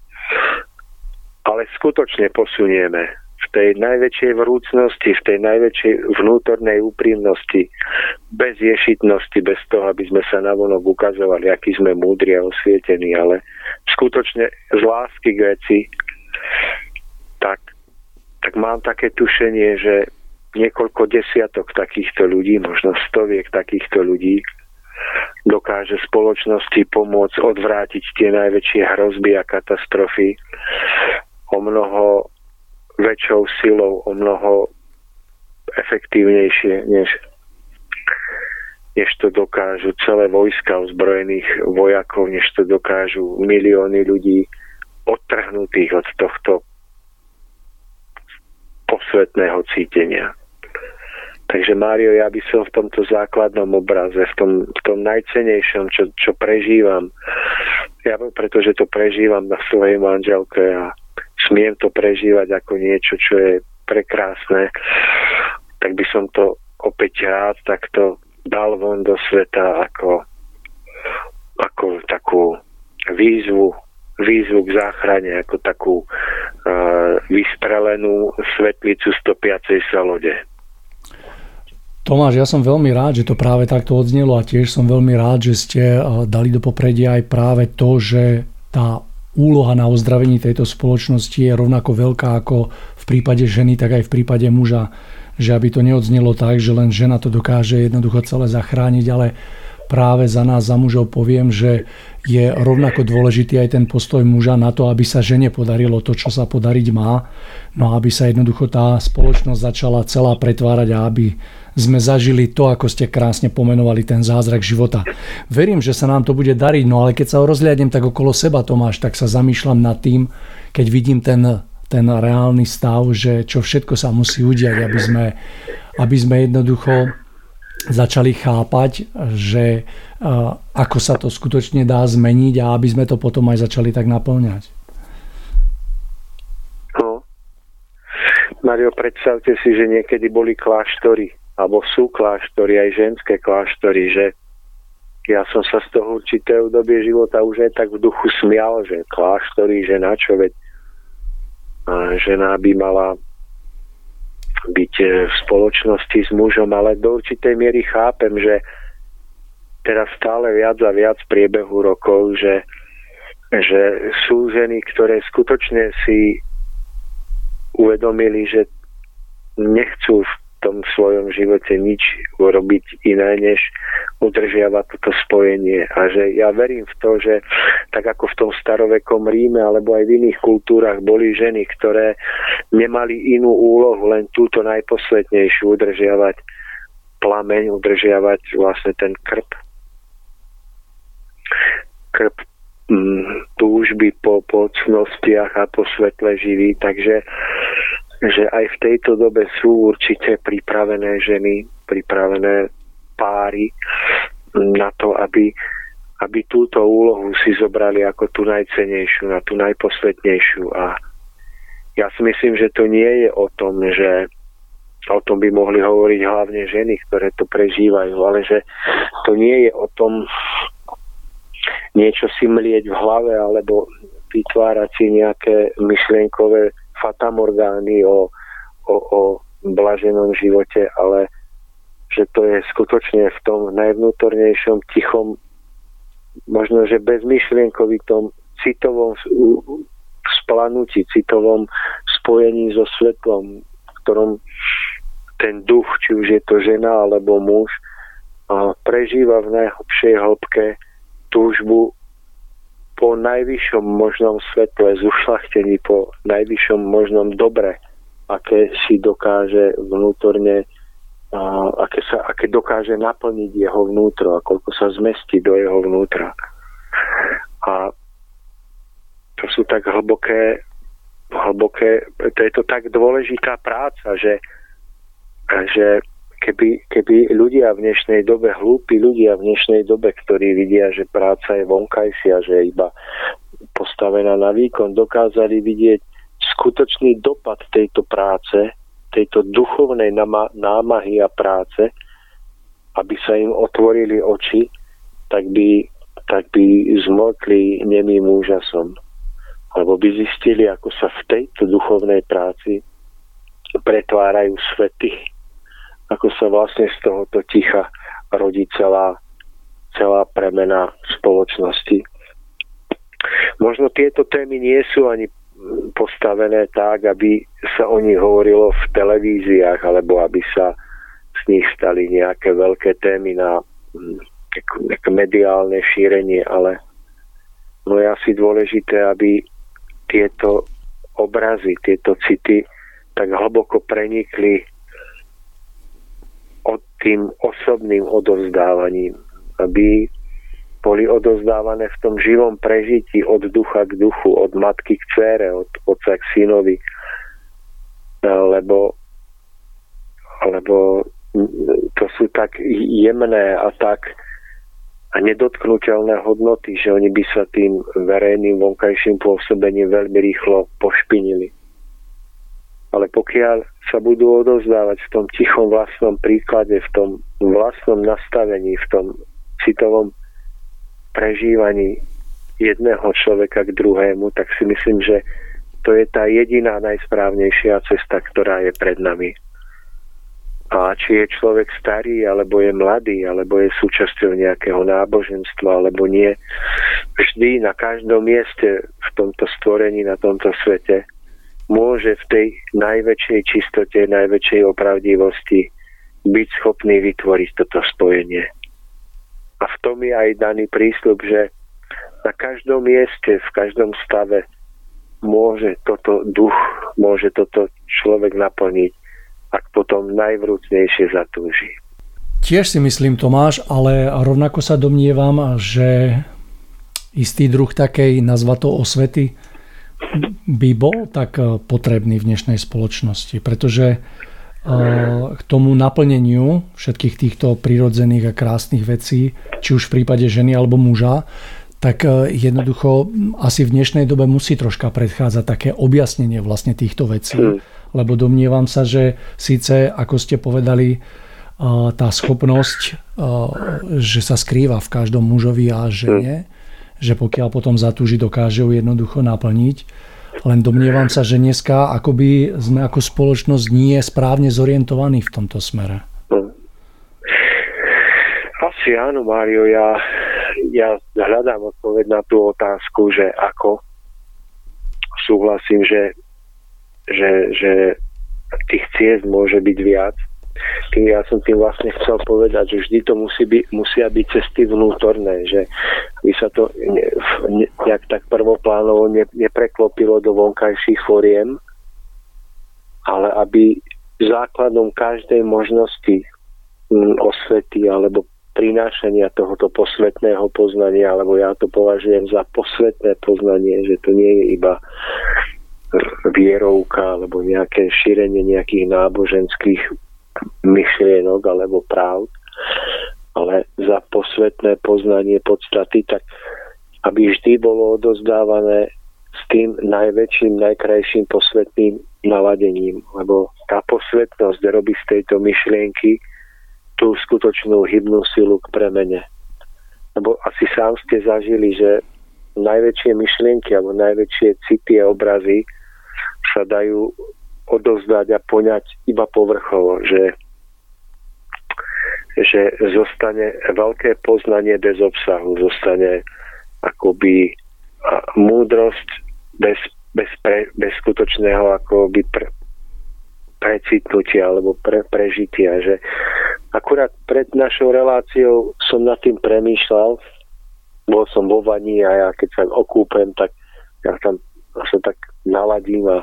ale skutočne posunieme v tej najväčšej vrúcnosti, v tej najväčšej vnútornej úprimnosti, bez ješitnosti, bez toho, aby sme sa navonok ukazovali, aký sme múdri a osvietení, ale skutočne z lásky k veci, tak mám také tušenie, že niekoľko desiatok takýchto ľudí, možno stoviek takýchto ľudí dokáže spoločnosti pomôcť odvrátiť tie najväčšie hrozby a katastrofy o mnoho väčšou silou, o mnoho efektívnejšie, než to dokážu celé vojska ozbrojených vojakov, než to dokážu milióny ľudí odtrhnutých od tohto posvetného cítenia. Takže Mário, ja by som v tomto základnom obraze, v tom najcenejšom, čo prežívam, pretože to prežívam na svojej manželke a smiem to prežívať ako niečo, čo je prekrásne, tak by som to opäť rád takto dal von do sveta ako takú výzvu k záchrane, ako takú vysprelenú svetlicu stopiacej sa lode. Tomáš, ja som veľmi rád, že to práve takto odznelo a tiež som veľmi rád, že ste dali do popredia aj práve to, že tá úloha na ozdravení tejto spoločnosti je rovnako veľká ako v prípade ženy, tak aj v prípade muža. Že aby to neodznelo tak, že len žena to dokáže jednoducho celé zachrániť, ale práve za nás, za mužov poviem, že je rovnako dôležitý aj ten postoj muža na to, aby sa žene podarilo to, čo sa podariť má. No aby sa jednoducho tá spoločnosť začala celá pretvárať a aby sme zažili to, ako ste krásne pomenovali, ten zázrak života. Verím, že sa nám to bude dariť, no ale keď sa rozhliadnem tak okolo seba, Tomáš, tak sa zamýšľam nad tým, keď vidím ten reálny stav, že čo všetko sa musí udiať, aby sme jednoducho začali chápať, že ako sa to skutočne dá zmeniť a aby sme to potom aj začali tak naplňať. No. Mario, predstavte si, že niekedy boli kláštory, alebo sú kláštory, aj ženské kláštory, že ja som sa z toho určitého obdobie života už aj tak v duchu smial, že kláštory, že na čo, veď žena by mala byť v spoločnosti s mužom, ale do určitej miery chápem, že teraz stále viac a viac v priebehu rokov, že sú ženy, ktoré skutočne si uvedomili, že nechcú v tom svojom živote nič urobiť iné, než udržiavať toto spojenie. A že ja verím v to, že tak ako v tom starovekom Ríme alebo aj v iných kultúrach boli ženy, ktoré nemali inú úlohu, len túto najposvetnejšiu, udržiavať plameň, udržiavať vlastne ten krb túžby po cnostiach a po svetle živí. Takže že aj v tejto dobe sú určite pripravené ženy, pripravené páry na to, aby túto úlohu si zobrali ako tú najcennejšiu, na tú najposvetnejšiu. A ja si myslím, že to nie je o tom, že o tom by mohli hovoriť hlavne ženy, ktoré to prežívajú, ale že to nie je o tom niečo si mlieť v hlave alebo vytvárať si nejaké myšlienkové fatamorgány o blaženom živote, ale že to je skutočne v tom najvnútornejšom, tichom, možno, že bezmyšlienkovitom, citovom splanutí, citovom spojení so svetlom, v ktorom ten duch, či už je to žena alebo muž, prežíva v najhlbšej hĺbke túžbu po najvyššom možnom svetle, zušľachtení, po najvyššom možnom dobre, aké si dokáže vnútorne, aké dokáže naplniť jeho vnútro a koľko sa zmestí do jeho vnútra. A to sú tak hlboké, to je to tak dôležitá práca, že keby ľudia v dnešnej dobe, hlúpi ľudia v dnešnej dobe, ktorí vidia, že práca je vonkajšia, že je iba postavená na výkon, dokázali vidieť skutočný dopad tejto práce, tejto duchovnej námahy a práce, aby sa im otvorili oči, tak by zmlkli nemým úžasom. Alebo by zistili, ako sa v tejto duchovnej práci pretvárajú svety, ako sa vlastne z tohoto ticha rodí celá premena spoločnosti. Možno tieto témy nie sú ani postavené tak, aby sa o nich hovorilo v televíziách, alebo aby sa z nich stali nejaké veľké témy na nejaké mediálne šírenie, ale no je asi dôležité, aby tieto obrazy, tieto city tak hlboko prenikli od tým osobným odovzdávaním, aby boli odovzdávané v tom živom prežití od ducha k duchu, od matky k dcére, od otca k synovi, lebo to sú tak jemné a tak a nedotknuteľné hodnoty, že oni by sa tým verejným vonkajším pôsobením veľmi rýchlo pošpinili. Ale pokiaľ sa budú odovzdávať v tom tichom vlastnom príklade, v tom vlastnom nastavení, v tom citovom prežívaní jedného človeka k druhému, tak si myslím, že to je tá jediná najsprávnejšia cesta, ktorá je pred nami. A či je človek starý, alebo je mladý, alebo je súčasťou nejakého náboženstva, alebo nie, vždy na každom mieste v tomto stvorení, na tomto svete môže v tej najväčšej čistote, najväčšej opravdivosti byť schopný vytvoriť toto spojenie. A v tom je aj daný prísľub, že na každom mieste, v každom stave môže toto duch, môže toto človek naplniť, ak potom najvrúcnejšie zatúži. Tiež si myslím, Tomáš, ale rovnako sa domnievam, že istý druh takej, nazva to osvety, by bol tak potrebný v dnešnej spoločnosti, pretože k tomu naplneniu všetkých týchto prirodzených a krásnych vecí, či už v prípade ženy alebo muža, tak jednoducho asi v dnešnej dobe musí troška predchádzať také objasnenie vlastne týchto vecí. Lebo domnievam sa, že síce, ako ste povedali, tá schopnosť, že sa skrýva v každom mužovi a žene, že pokiaľ potom zatúži, dokáže ju jednoducho naplniť. Len domnievam sa, že dneska akoby sme ako spoločnosť nie správne zorientovaní v tomto smere. Asi áno, Mário, ja hľadám odpoveď na tú otázku, že ako súhlasím, že tých ciest môže byť viac. Ja som tým vlastne chcel povedať, že vždy to musia byť cesty vnútorné, že by sa to nejak tak prvoplánovo nepreklopilo do vonkajších foriem, ale aby základom každej možnosti osvety alebo prinášania tohoto posvetného poznania, alebo ja to považujem za posvetné poznanie, že to nie je iba vierovka alebo nejaké šírenie nejakých náboženských myšlienok alebo práv, ale za posvetné poznanie podstaty, tak aby vždy bolo odozdávané s tým najväčším, najkrajším posvetným naladením, lebo tá posvetnosť robí z tejto myšlienky tú skutočnú hybnú silu k premene. Lebo asi sám ste zažili, že najväčšie myšlienky alebo najväčšie city a obrazy sa dajú odovzdať a poňať iba povrchovo, že zostane veľké poznanie bez obsahu, zostane akoby múdrosť bez skutočného akoby precitnutia alebo prežitia. Že akurát pred našou reláciou som nad tým premýšľal, bol som vo vani a ja keď sa okúpem, tak ja tam sa tak naladím a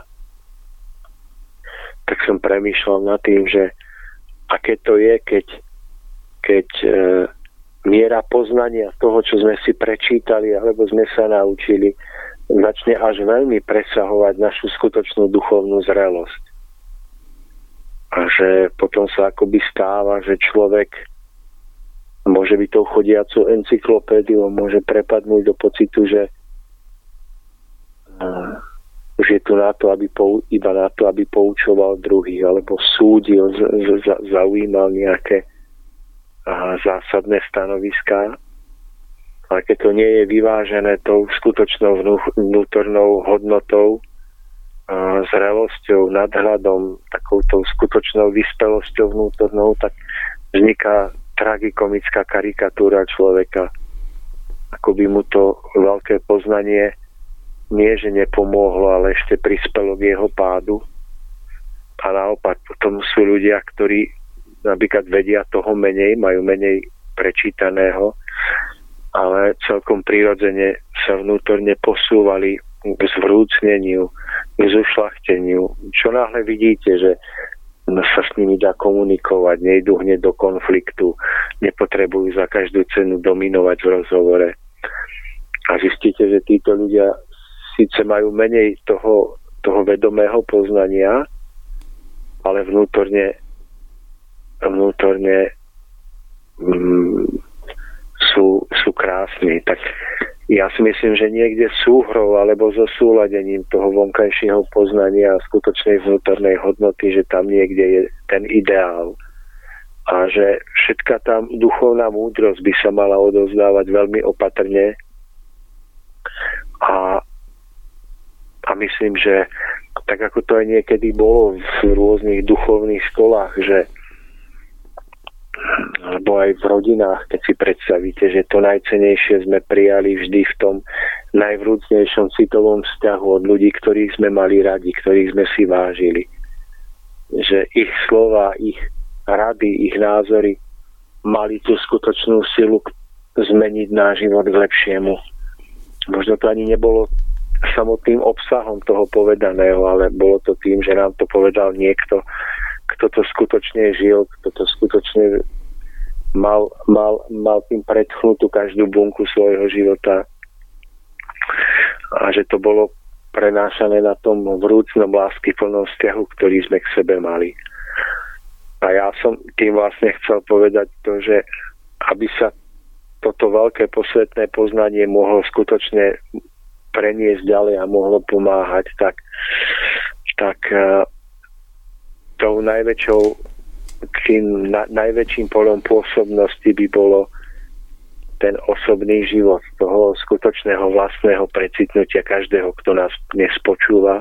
tak som premýšľal nad tým, že aké to je, keď miera poznania toho, čo sme si prečítali alebo sme sa naučili, začne až veľmi presahovať našu skutočnú duchovnú zrelosť. A že potom sa akoby stáva, že človek môže byť tou chodiacou encyklopédiou, môže prepadnúť do pocitu, že už je tu na to, iba na to, aby poučoval druhých, alebo súdil, zaujímal nejaké zásadné stanoviská. Ale keď to nie je vyvážené tou skutočnou vnútornou hodnotou, zrelosťou, nadhľadom, takoutou skutočnou vyspelosťou vnútornou, tak vzniká tragikomická karikatúra človeka. Ako by mu to veľké poznanie nie, že nepomohlo, ale ešte prispelo k jeho pádu. A naopak, potom sú ľudia, ktorí napríklad vedia toho menej, majú menej prečítaného, ale celkom prirodzene sa vnútorne posúvali k zvrúcneniu, k zušľachteniu. Čo náhle vidíte, že sa s nimi dá komunikovať, nejdú hneď do konfliktu, nepotrebujú za každú cenu dominovať v rozhovore. A zistíte, že títo ľudia síce majú menej toho vedomého poznania, ale vnútorne sú krásni. Tak ja si myslím, že niekde súhrou alebo zosúladením toho vonkajšieho poznania a skutočnej vnútornej hodnoty, že tam niekde je ten ideál. A že všetká tá duchovná múdrosť by sa mala odovzdávať veľmi opatrne. A myslím, že tak ako to aj niekedy bolo v rôznych duchovných školách, že alebo aj v rodinách, keď si predstavíte, že to najcennejšie sme prijali vždy v tom najvrúcnejšom citovom vzťahu od ľudí, ktorých sme mali radi, ktorých sme si vážili. Že ich slova, ich rady, ich názory mali tú skutočnú silu zmeniť náš život k lepšiemu. Možno to ani nebolo samotným obsahom toho povedaného, ale bolo to tým, že nám to povedal niekto, kto to skutočne žil, kto to skutočne mal tým predchnutú každú bunku svojho života. A že to bolo prenášané na tom vrúcnom láskyplnom vzťahu, ktorý sme k sebe mali. A ja som tým vlastne chcel povedať to, že aby sa toto veľké posvetné poznanie mohlo skutočne preniesť ďalej a mohlo pomáhať, tak tou najväčším polom pôsobnosti by bolo ten osobný život toho skutočného vlastného precitnutia každého, kto nás dnes počúva.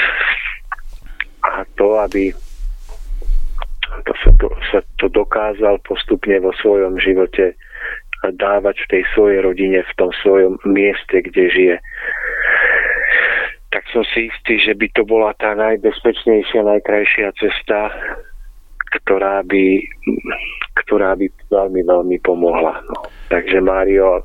A to, aby sa to dokázal postupne vo svojom živote dávať v tej svojej rodine, v tom svojom mieste, kde žije. Tak som si istý, že by to bola tá najbezpečnejšia, najkrajšia cesta, ktorá by veľmi, veľmi pomohla. No. Takže Mário,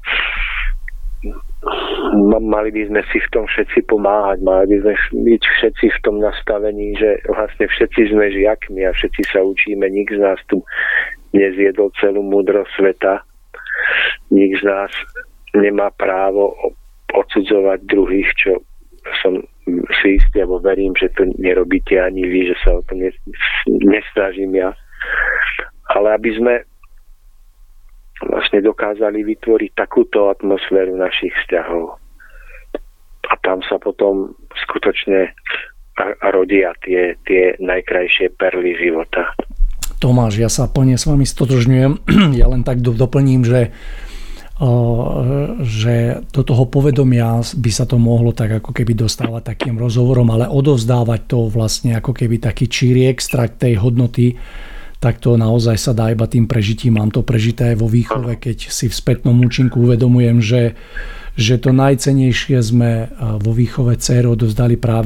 mali by sme si v tom všetci pomáhať, mali by sme byť všetci v tom nastavení, že vlastne všetci sme žiakmi a všetci sa učíme, nik z nás tu nezjedol celú múdrosť sveta. Nik z nás nemá právo odsudzovať druhých, čo som si istý, alebo verím, že to nerobíte ani vy, že sa o to nesnažím ja. Ale aby sme vlastne dokázali vytvoriť takúto atmosféru našich vzťahov. A tam sa potom skutočne rodia tie najkrajšie perly života. Tomáš, ja sa plne s vami stotožňujem. Ja len tak doplním, že do toho povedomia by sa to mohlo tak ako keby dostávať takým rozhovorom, ale odovzdávať to vlastne ako keby taký číri extrakt tej hodnoty, tak to naozaj sa dá iba tým prežitím. Mám to prežité aj vo výchove, keď si v spätnom účinku uvedomujem, že to najcennejšie sme vo výchove dcéry odovzdali práve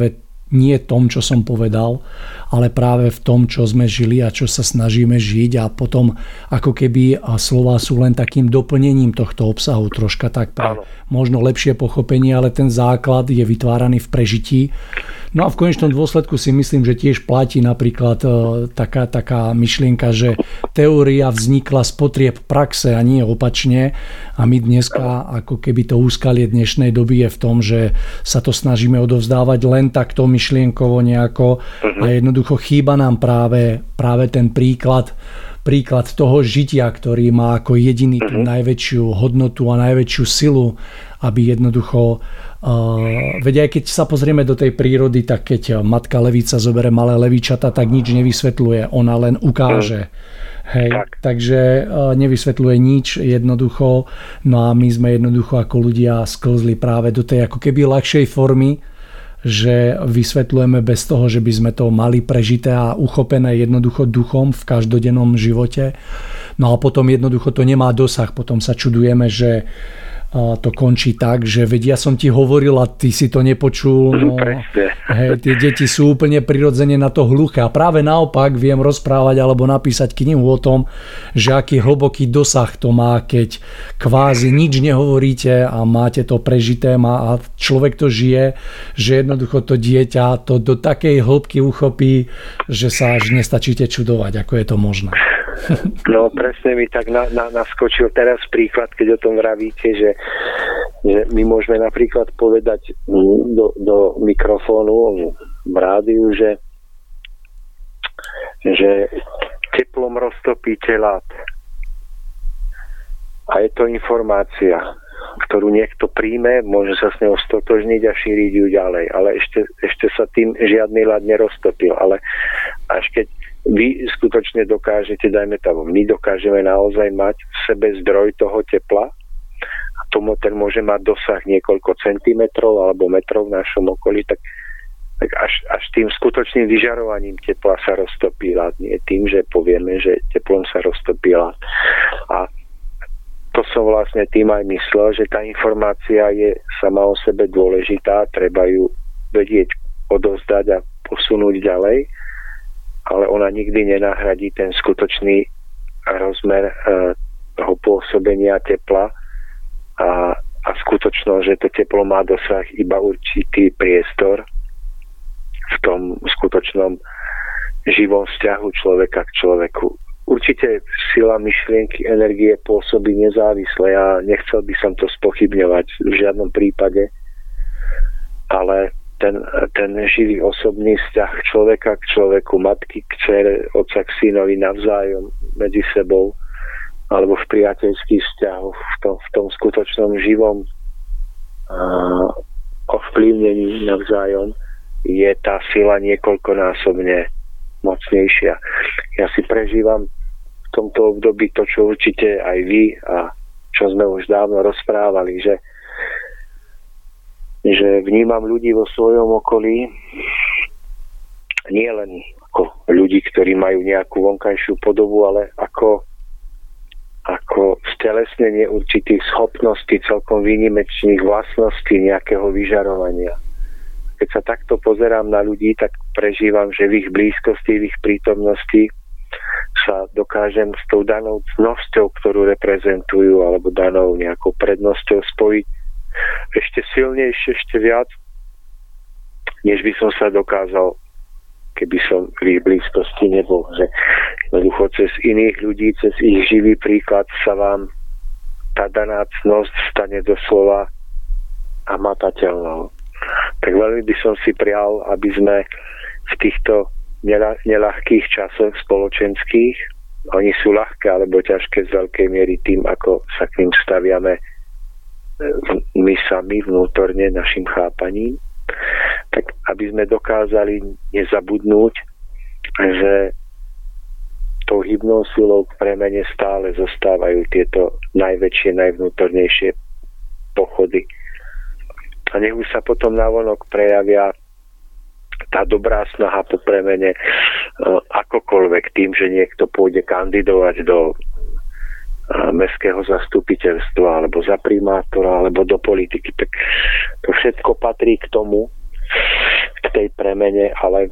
nie tom, čo som povedal, ale práve v tom, čo sme žili a čo sa snažíme žiť, a potom ako keby slová sú len takým doplnením tohto obsahu, troška tak pre možno lepšie pochopenie, ale ten základ je vytváraný v prežití. No a v konečnom dôsledku si myslím, že tiež platí napríklad taká myšlienka, že teória vznikla z potrieb praxe a nie opačne, a my dneska ako keby to úskalie dnešnej doby je v tom, že sa to snažíme odovzdávať len takto myšlienkovo nejako a jednoducho chýba nám práve ten príklad toho žitia, ktorý má ako jediný tú najväčšiu hodnotu a najväčšiu silu, aby jednoducho veď aj keď sa pozrieme do tej prírody, tak keď matka levica zobere malé levičata, tak nič nevysvetľuje, ona len ukáže. Hej, takže nevysvetľuje nič jednoducho, no a my sme jednoducho ako ľudia sklzli práve do tej ako keby ľahšej formy, že vysvetľujeme bez toho, že by sme to mali prežité a uchopené jednoducho duchom v každodennom živote. No a potom jednoducho to nemá dosah, potom sa čudujeme, že to končí tak, že veď ja som ti hovoril a ty si to nepočul. No, hej, tie deti sú úplne prirodzene na to hluché. A práve naopak viem rozprávať alebo napísať knihu o tom, že aký hlboký dosah to má, keď kvázi nič nehovoríte a máte to prežité a človek to žije, že jednoducho to dieťa to do takej hĺbky uchopí, že sa až nestačíte čudovať, ako je to možné. No presne mi tak naskočil teraz príklad, keď o tom vravíte, že my môžeme napríklad povedať do mikrofónu v rádiu, že teplom roztopíte ľad. A je to informácia, ktorú niekto príjme, môže sa s ňou stotožniť a šíriť ju ďalej. Ale ešte sa tým žiadny ľad neroztopil. Ale až keď vy skutočne dokážete, my dokážeme naozaj mať v sebe zdroj toho tepla a ten môže mať dosah niekoľko centimetrov alebo metrov v našom okolí, tak až tým skutočným vyžarovaním tepla sa roztopí ľad, nie tým, že povieme, že teplom sa roztopí ľad. A to som vlastne tým aj myslel, že tá informácia je sama o sebe dôležitá, treba ju vedieť odovzdať a posunúť ďalej, ale ona nikdy nenahradí ten skutočný rozmer toho pôsobenia tepla a skutočnosť, že to teplo má dosah iba určitý priestor v tom skutočnom živom vzťahu človeka k človeku. Určite sila myšlienky, energie pôsobí nezávisle. Ja nechcel by som to spochybňovať v žiadnom prípade, ale ten živý osobný vzťah človeka k človeku, matky k dcere, otca k synovi navzájom medzi sebou alebo v priateľských vzťahoch, v tom skutočnom živom ovplyvnení navzájom je tá sila niekoľkonásobne mocnejšia. Ja si prežívam v tomto období to, čo určite aj vy a čo sme už dávno rozprávali, že vnímam ľudí vo svojom okolí nie len ako ľudí, ktorí majú nejakú vonkajšiu podobu, ale ako stelesnenie určitých schopností, celkom výnimečných vlastností nejakého vyžarovania. Keď sa takto pozerám na ľudí, tak prežívam, že v ich blízkosti, v ich prítomnosti sa dokážem s tou danou cnosťou, ktorú reprezentujú, alebo danou nejakou prednosťou spojiť ešte silnejšie, ešte viac, než by som sa dokázal, keby som v ich blízkosti nebol. Že jednoducho cez iných ľudí, cez ich živý príklad sa vám tá daná cnosť stane doslova hmatateľnou. Tak veľmi by som si prial, aby sme v týchto neľahkých časoch spoločenských, oni sú ľahké alebo ťažké z veľkej miery tým, ako sa k ním staviame my sami vnútorne našim chápaním, tak aby sme dokázali nezabudnúť, že tou hybnou silou k premene stále zostávajú tieto najväčšie, najvnútornejšie pochody. A nech už sa potom navonok prejavia tá dobrá snaha po premene akokoľvek tým, že niekto pôjde kandidovať do mestského zastupiteľstva alebo za primátora alebo do politiky, tak to všetko patrí k tomu, k tej premene, ale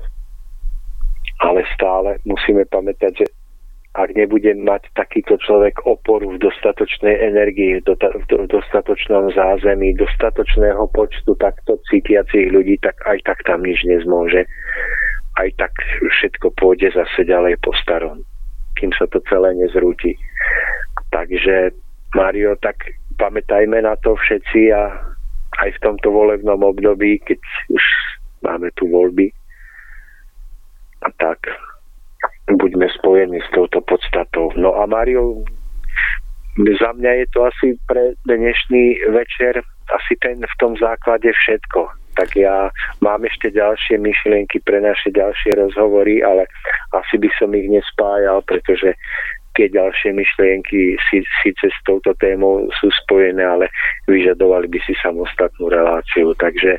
stále musíme pamätať, že ak nebude mať takýto človek oporu v dostatočnej energii, v dostatočnom zázemí, dostatočného počtu takto cítiacich ľudí, tak aj tak tam nič nezmôže. Aj tak všetko pôjde zase ďalej po starom, kým sa to celé nezrúti. Takže, Mário, tak pamätajme na to všetci a aj v tomto volebnom období, keď už máme tu voľby, a tak buďme spojení s touto podstatou. No a Mário, za mňa je to asi pre dnešný večer asi v tom základe všetko. Tak ja mám ešte ďalšie myšlienky pre naše ďalšie rozhovory, ale asi by som ich nespájal, pretože tie ďalšie myšlienky síce s touto témou sú spojené, ale vyžadovali by si samostatnú reláciu. Takže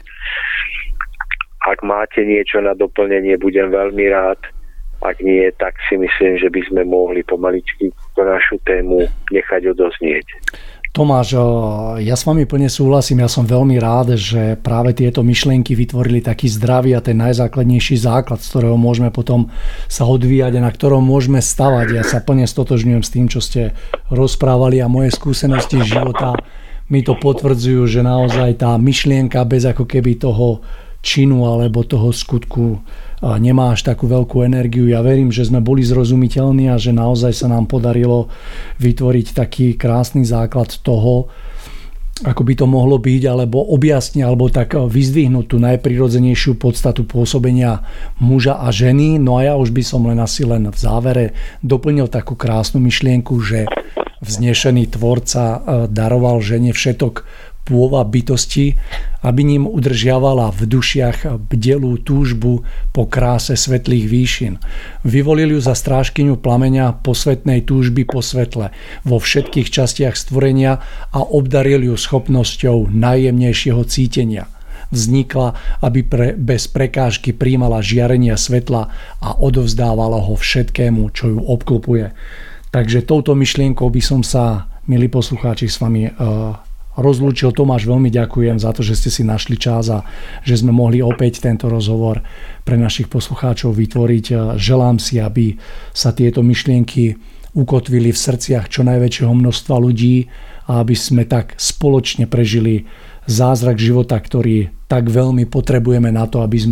ak máte niečo na doplnenie, budem veľmi rád. Ak nie, tak si myslím, že by sme mohli pomaličky tú našu tému nechať odoznieť. Tomáš, ja s vami plne súhlasím. Ja som veľmi rád, že práve tieto myšlienky vytvorili taký zdravý a ten najzákladnejší základ, z ktorého môžeme potom sa odvíjať a na ktorom môžeme stavať. Ja sa plne stotožňujem s tým, čo ste rozprávali a moje skúsenosti života mi to potvrdzujú, že naozaj tá myšlienka bez ako keby toho činu alebo toho skutku nemá až takú veľkú energiu. Ja verím, že sme boli zrozumiteľní a že naozaj sa nám podarilo vytvoriť taký krásny základ toho, ako by to mohlo byť, alebo objasniť, alebo tak vyzdvihnúť tú najprirodzenejšiu podstatu pôsobenia muža a ženy. No a ja už by som len v závere doplnil takú krásnu myšlienku, že vznešený tvorca daroval žene všetok pôva bytosti, aby ním udržiavala v dušiach bdelú túžbu po kráse svetlých výšin. Vyvolil ju za strážkyňu plameňa posvetnej túžby po svetle vo všetkých častiach stvorenia a obdaril ju schopnosťou najjemnejšieho cítenia. Vznikla, aby bez prekážky prijímala žiarenia svetla a odovzdávala ho všetkému, čo ju obklopuje. Takže touto myšlienkou by som sa, milí poslucháči, s vami rozlúčil. Tomáš, veľmi ďakujem za to, že ste si našli čas a že sme mohli opäť tento rozhovor pre našich poslucháčov vytvoriť. Želám si, aby sa tieto myšlienky ukotvili v srdciach čo najväčšieho množstva ľudí a aby sme tak spoločne prežili zázrak života, ktorý tak veľmi potrebujeme na to, aby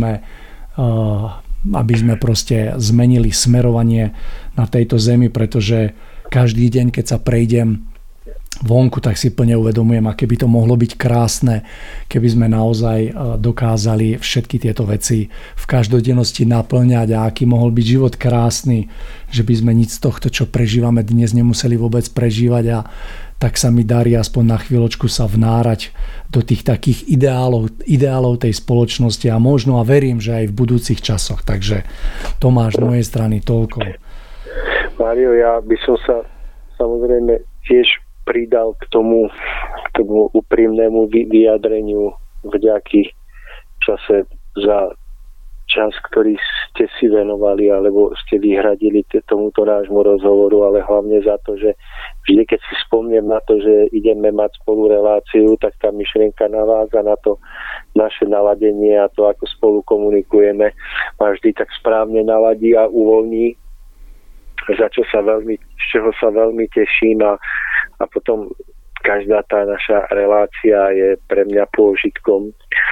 sme proste zmenili smerovanie na tejto zemi, pretože každý deň, keď sa prejdem vonku, tak si plne uvedomujem, aké by to mohlo byť krásne, keby sme naozaj dokázali všetky tieto veci v každodennosti naplňať a aký mohol byť život krásny, že by sme nič z tohto, čo prežívame dnes, nemuseli vôbec prežívať a tak sa mi darí aspoň na chvíľočku sa vnárať do tých takých ideálov tej spoločnosti a možno a verím, že aj v budúcich časoch. Takže Tomáš, z mojej strany toľko. Mário, ja by som sa samozrejme tiež pridal k tomu úprimnému vyjadreniu vďaky čase za čas, ktorý ste si venovali alebo ste vyhradili tomuto nášmu rozhovoru, ale hlavne za to, že vždy, keď si spomnem na to, že ideme mať spolu reláciu, tak tá myšlienka naváza na to naše naladenie a to, ako spolu komunikujeme, ma vždy tak správne naladí a uvoľní, z čoho sa veľmi teším a potom každá tá naša relácia je pre mňa pôžitkom.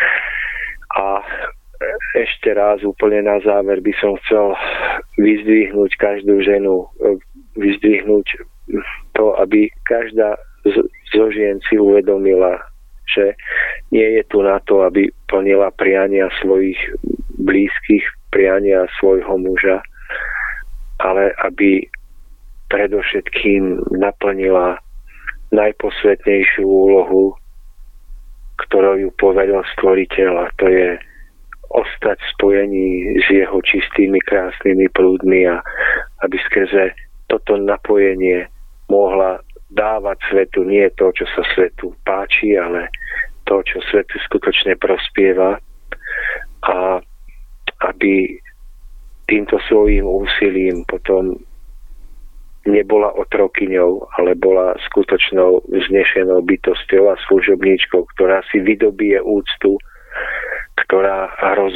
A ešte raz úplne na záver by som chcel vyzdvihnúť každú ženu, vyzdvihnúť to, aby každá zo žien si uvedomila, že nie je tu na to, aby plnila priania svojich blízkych, priania svojho muža, ale aby predovšetkým naplnila najposvetnejšiu úlohu, ktorou ju povedal Stvoriteľ, a to je ostať v spojení s jeho čistými, krásnymi prúdmi a aby skrze toto napojenie mohla dávať svetu nie to, čo sa svetu páči, ale to, čo svetu skutočne prospieva, a aby týmto svojím úsilím potom nebola otrokyňou, ale bola skutočnou vznešenou bytosťou a služobníčkou, ktorá si vydobije úctu, ktorá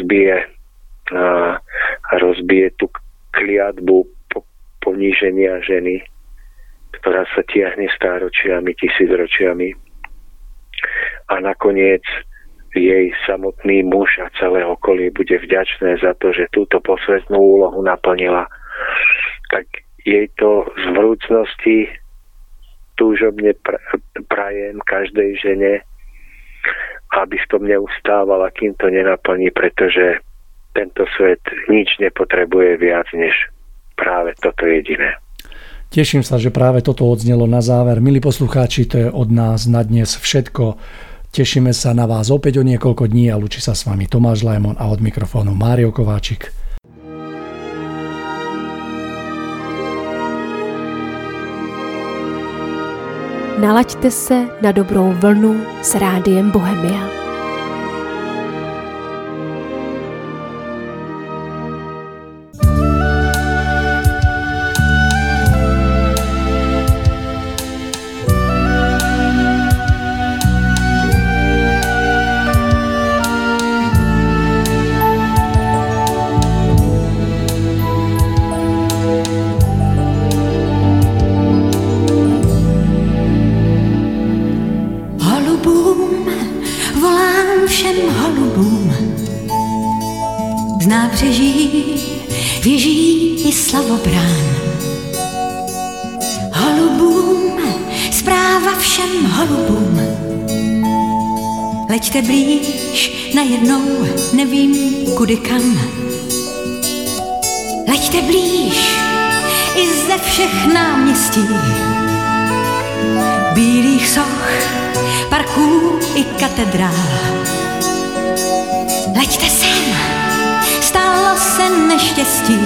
rozbije tú kliatbu poníženia ženy, ktorá sa tiahne stáročiami, tisícročiami. A nakoniec jej samotný muž a celé okolie bude vďačné za to, že túto posvetnú úlohu naplnila. Tak jej to z vrúcnosti túžobne prajem každej žene, aby v tom neustávala, kým to nenaplní, pretože tento svet nič nepotrebuje viac než práve toto jediné. Teším sa, že práve toto odznelo na záver. Milí poslucháči, to je od nás na dnes všetko. Tešíme sa na vás opäť o niekoľko dní a lúči sa s vami Tomáš Lajmon a od mikrofónu Mário Kováčik. Nalaďte se na dobrou vlnu s Rádiem Bohemia. Věží i slavobrán. Holubům, zpráva všem holubům. Leďte blíž, najednou nevím kudy kam. Leďte blíž, i ze všech náměstí. Bílých soch, parků i katedrál. Leďte sem, stalo se neštěstí.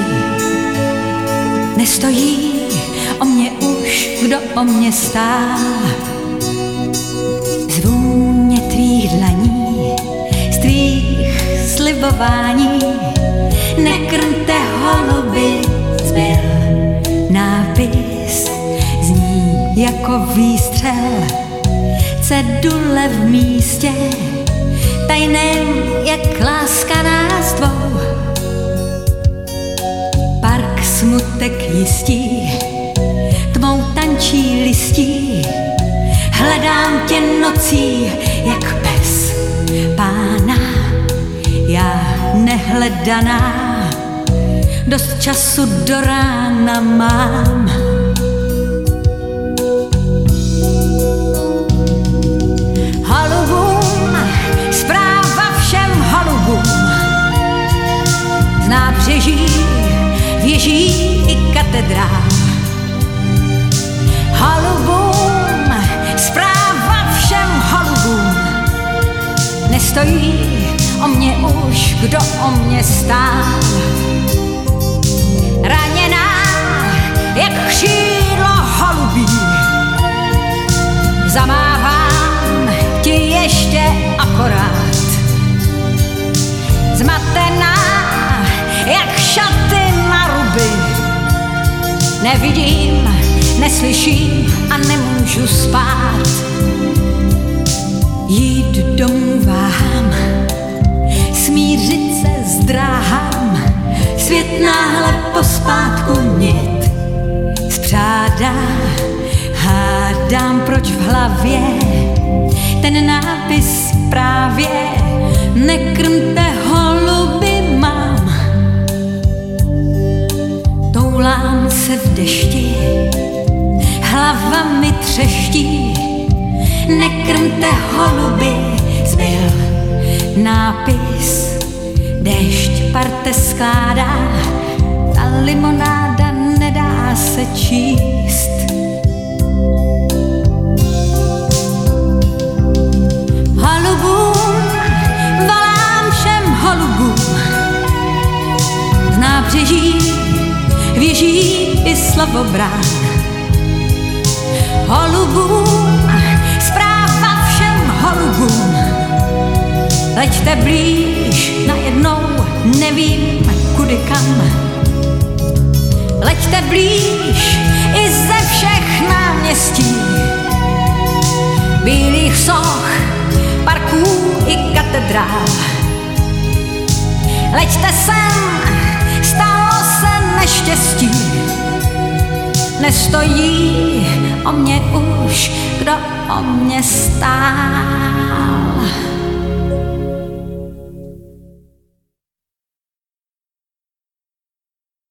Nestojí o mě už, kdo o mě stál. Z vůně tvých dlaní, z tvých slibování, nekrmte holuby, zbyl nápis, zní jako výstřel, cedule v místě, tajném jak láska nás dvou. Park smutek jistí, tmou tančí listí, hledám tě nocí jak pes pána, já nehledaná, dost času do rána mám. Holubům, zpráva všem holubům, z nábřeží, věží i katedrál. Holubům, zpráva všem holubům, nestojí o mě už, kdo o mě stál. Raněná jak křídlo holubí, zamávám ti ještě akorát. Zmatená jak šaty na ruby, nevidím, neslyším a nemůžu spát. Jít domů váhám, smířit se zdráhám, svět náhle pospátku nit spřádá. Hádám, proč v hlavě ten nápis právě nekrmte holuby mám. Toulám se v dešti, hlava mi třeští, nekrmte holuby, zbyl nápis, déšť parte skládá, ta limonáda nedá se číst. Holubům, volám všem holubům, v nábřeží věží i slavobrán. Holubům, zpráva všem holubům, leďte blíž, najednou nevím kudy kam. Leďte blíž i ze všech náměstí, bílých soch, parků i katedrál. leďte sem, stalo se neštěstí. Nestojí o mě už, kdo o mě stál.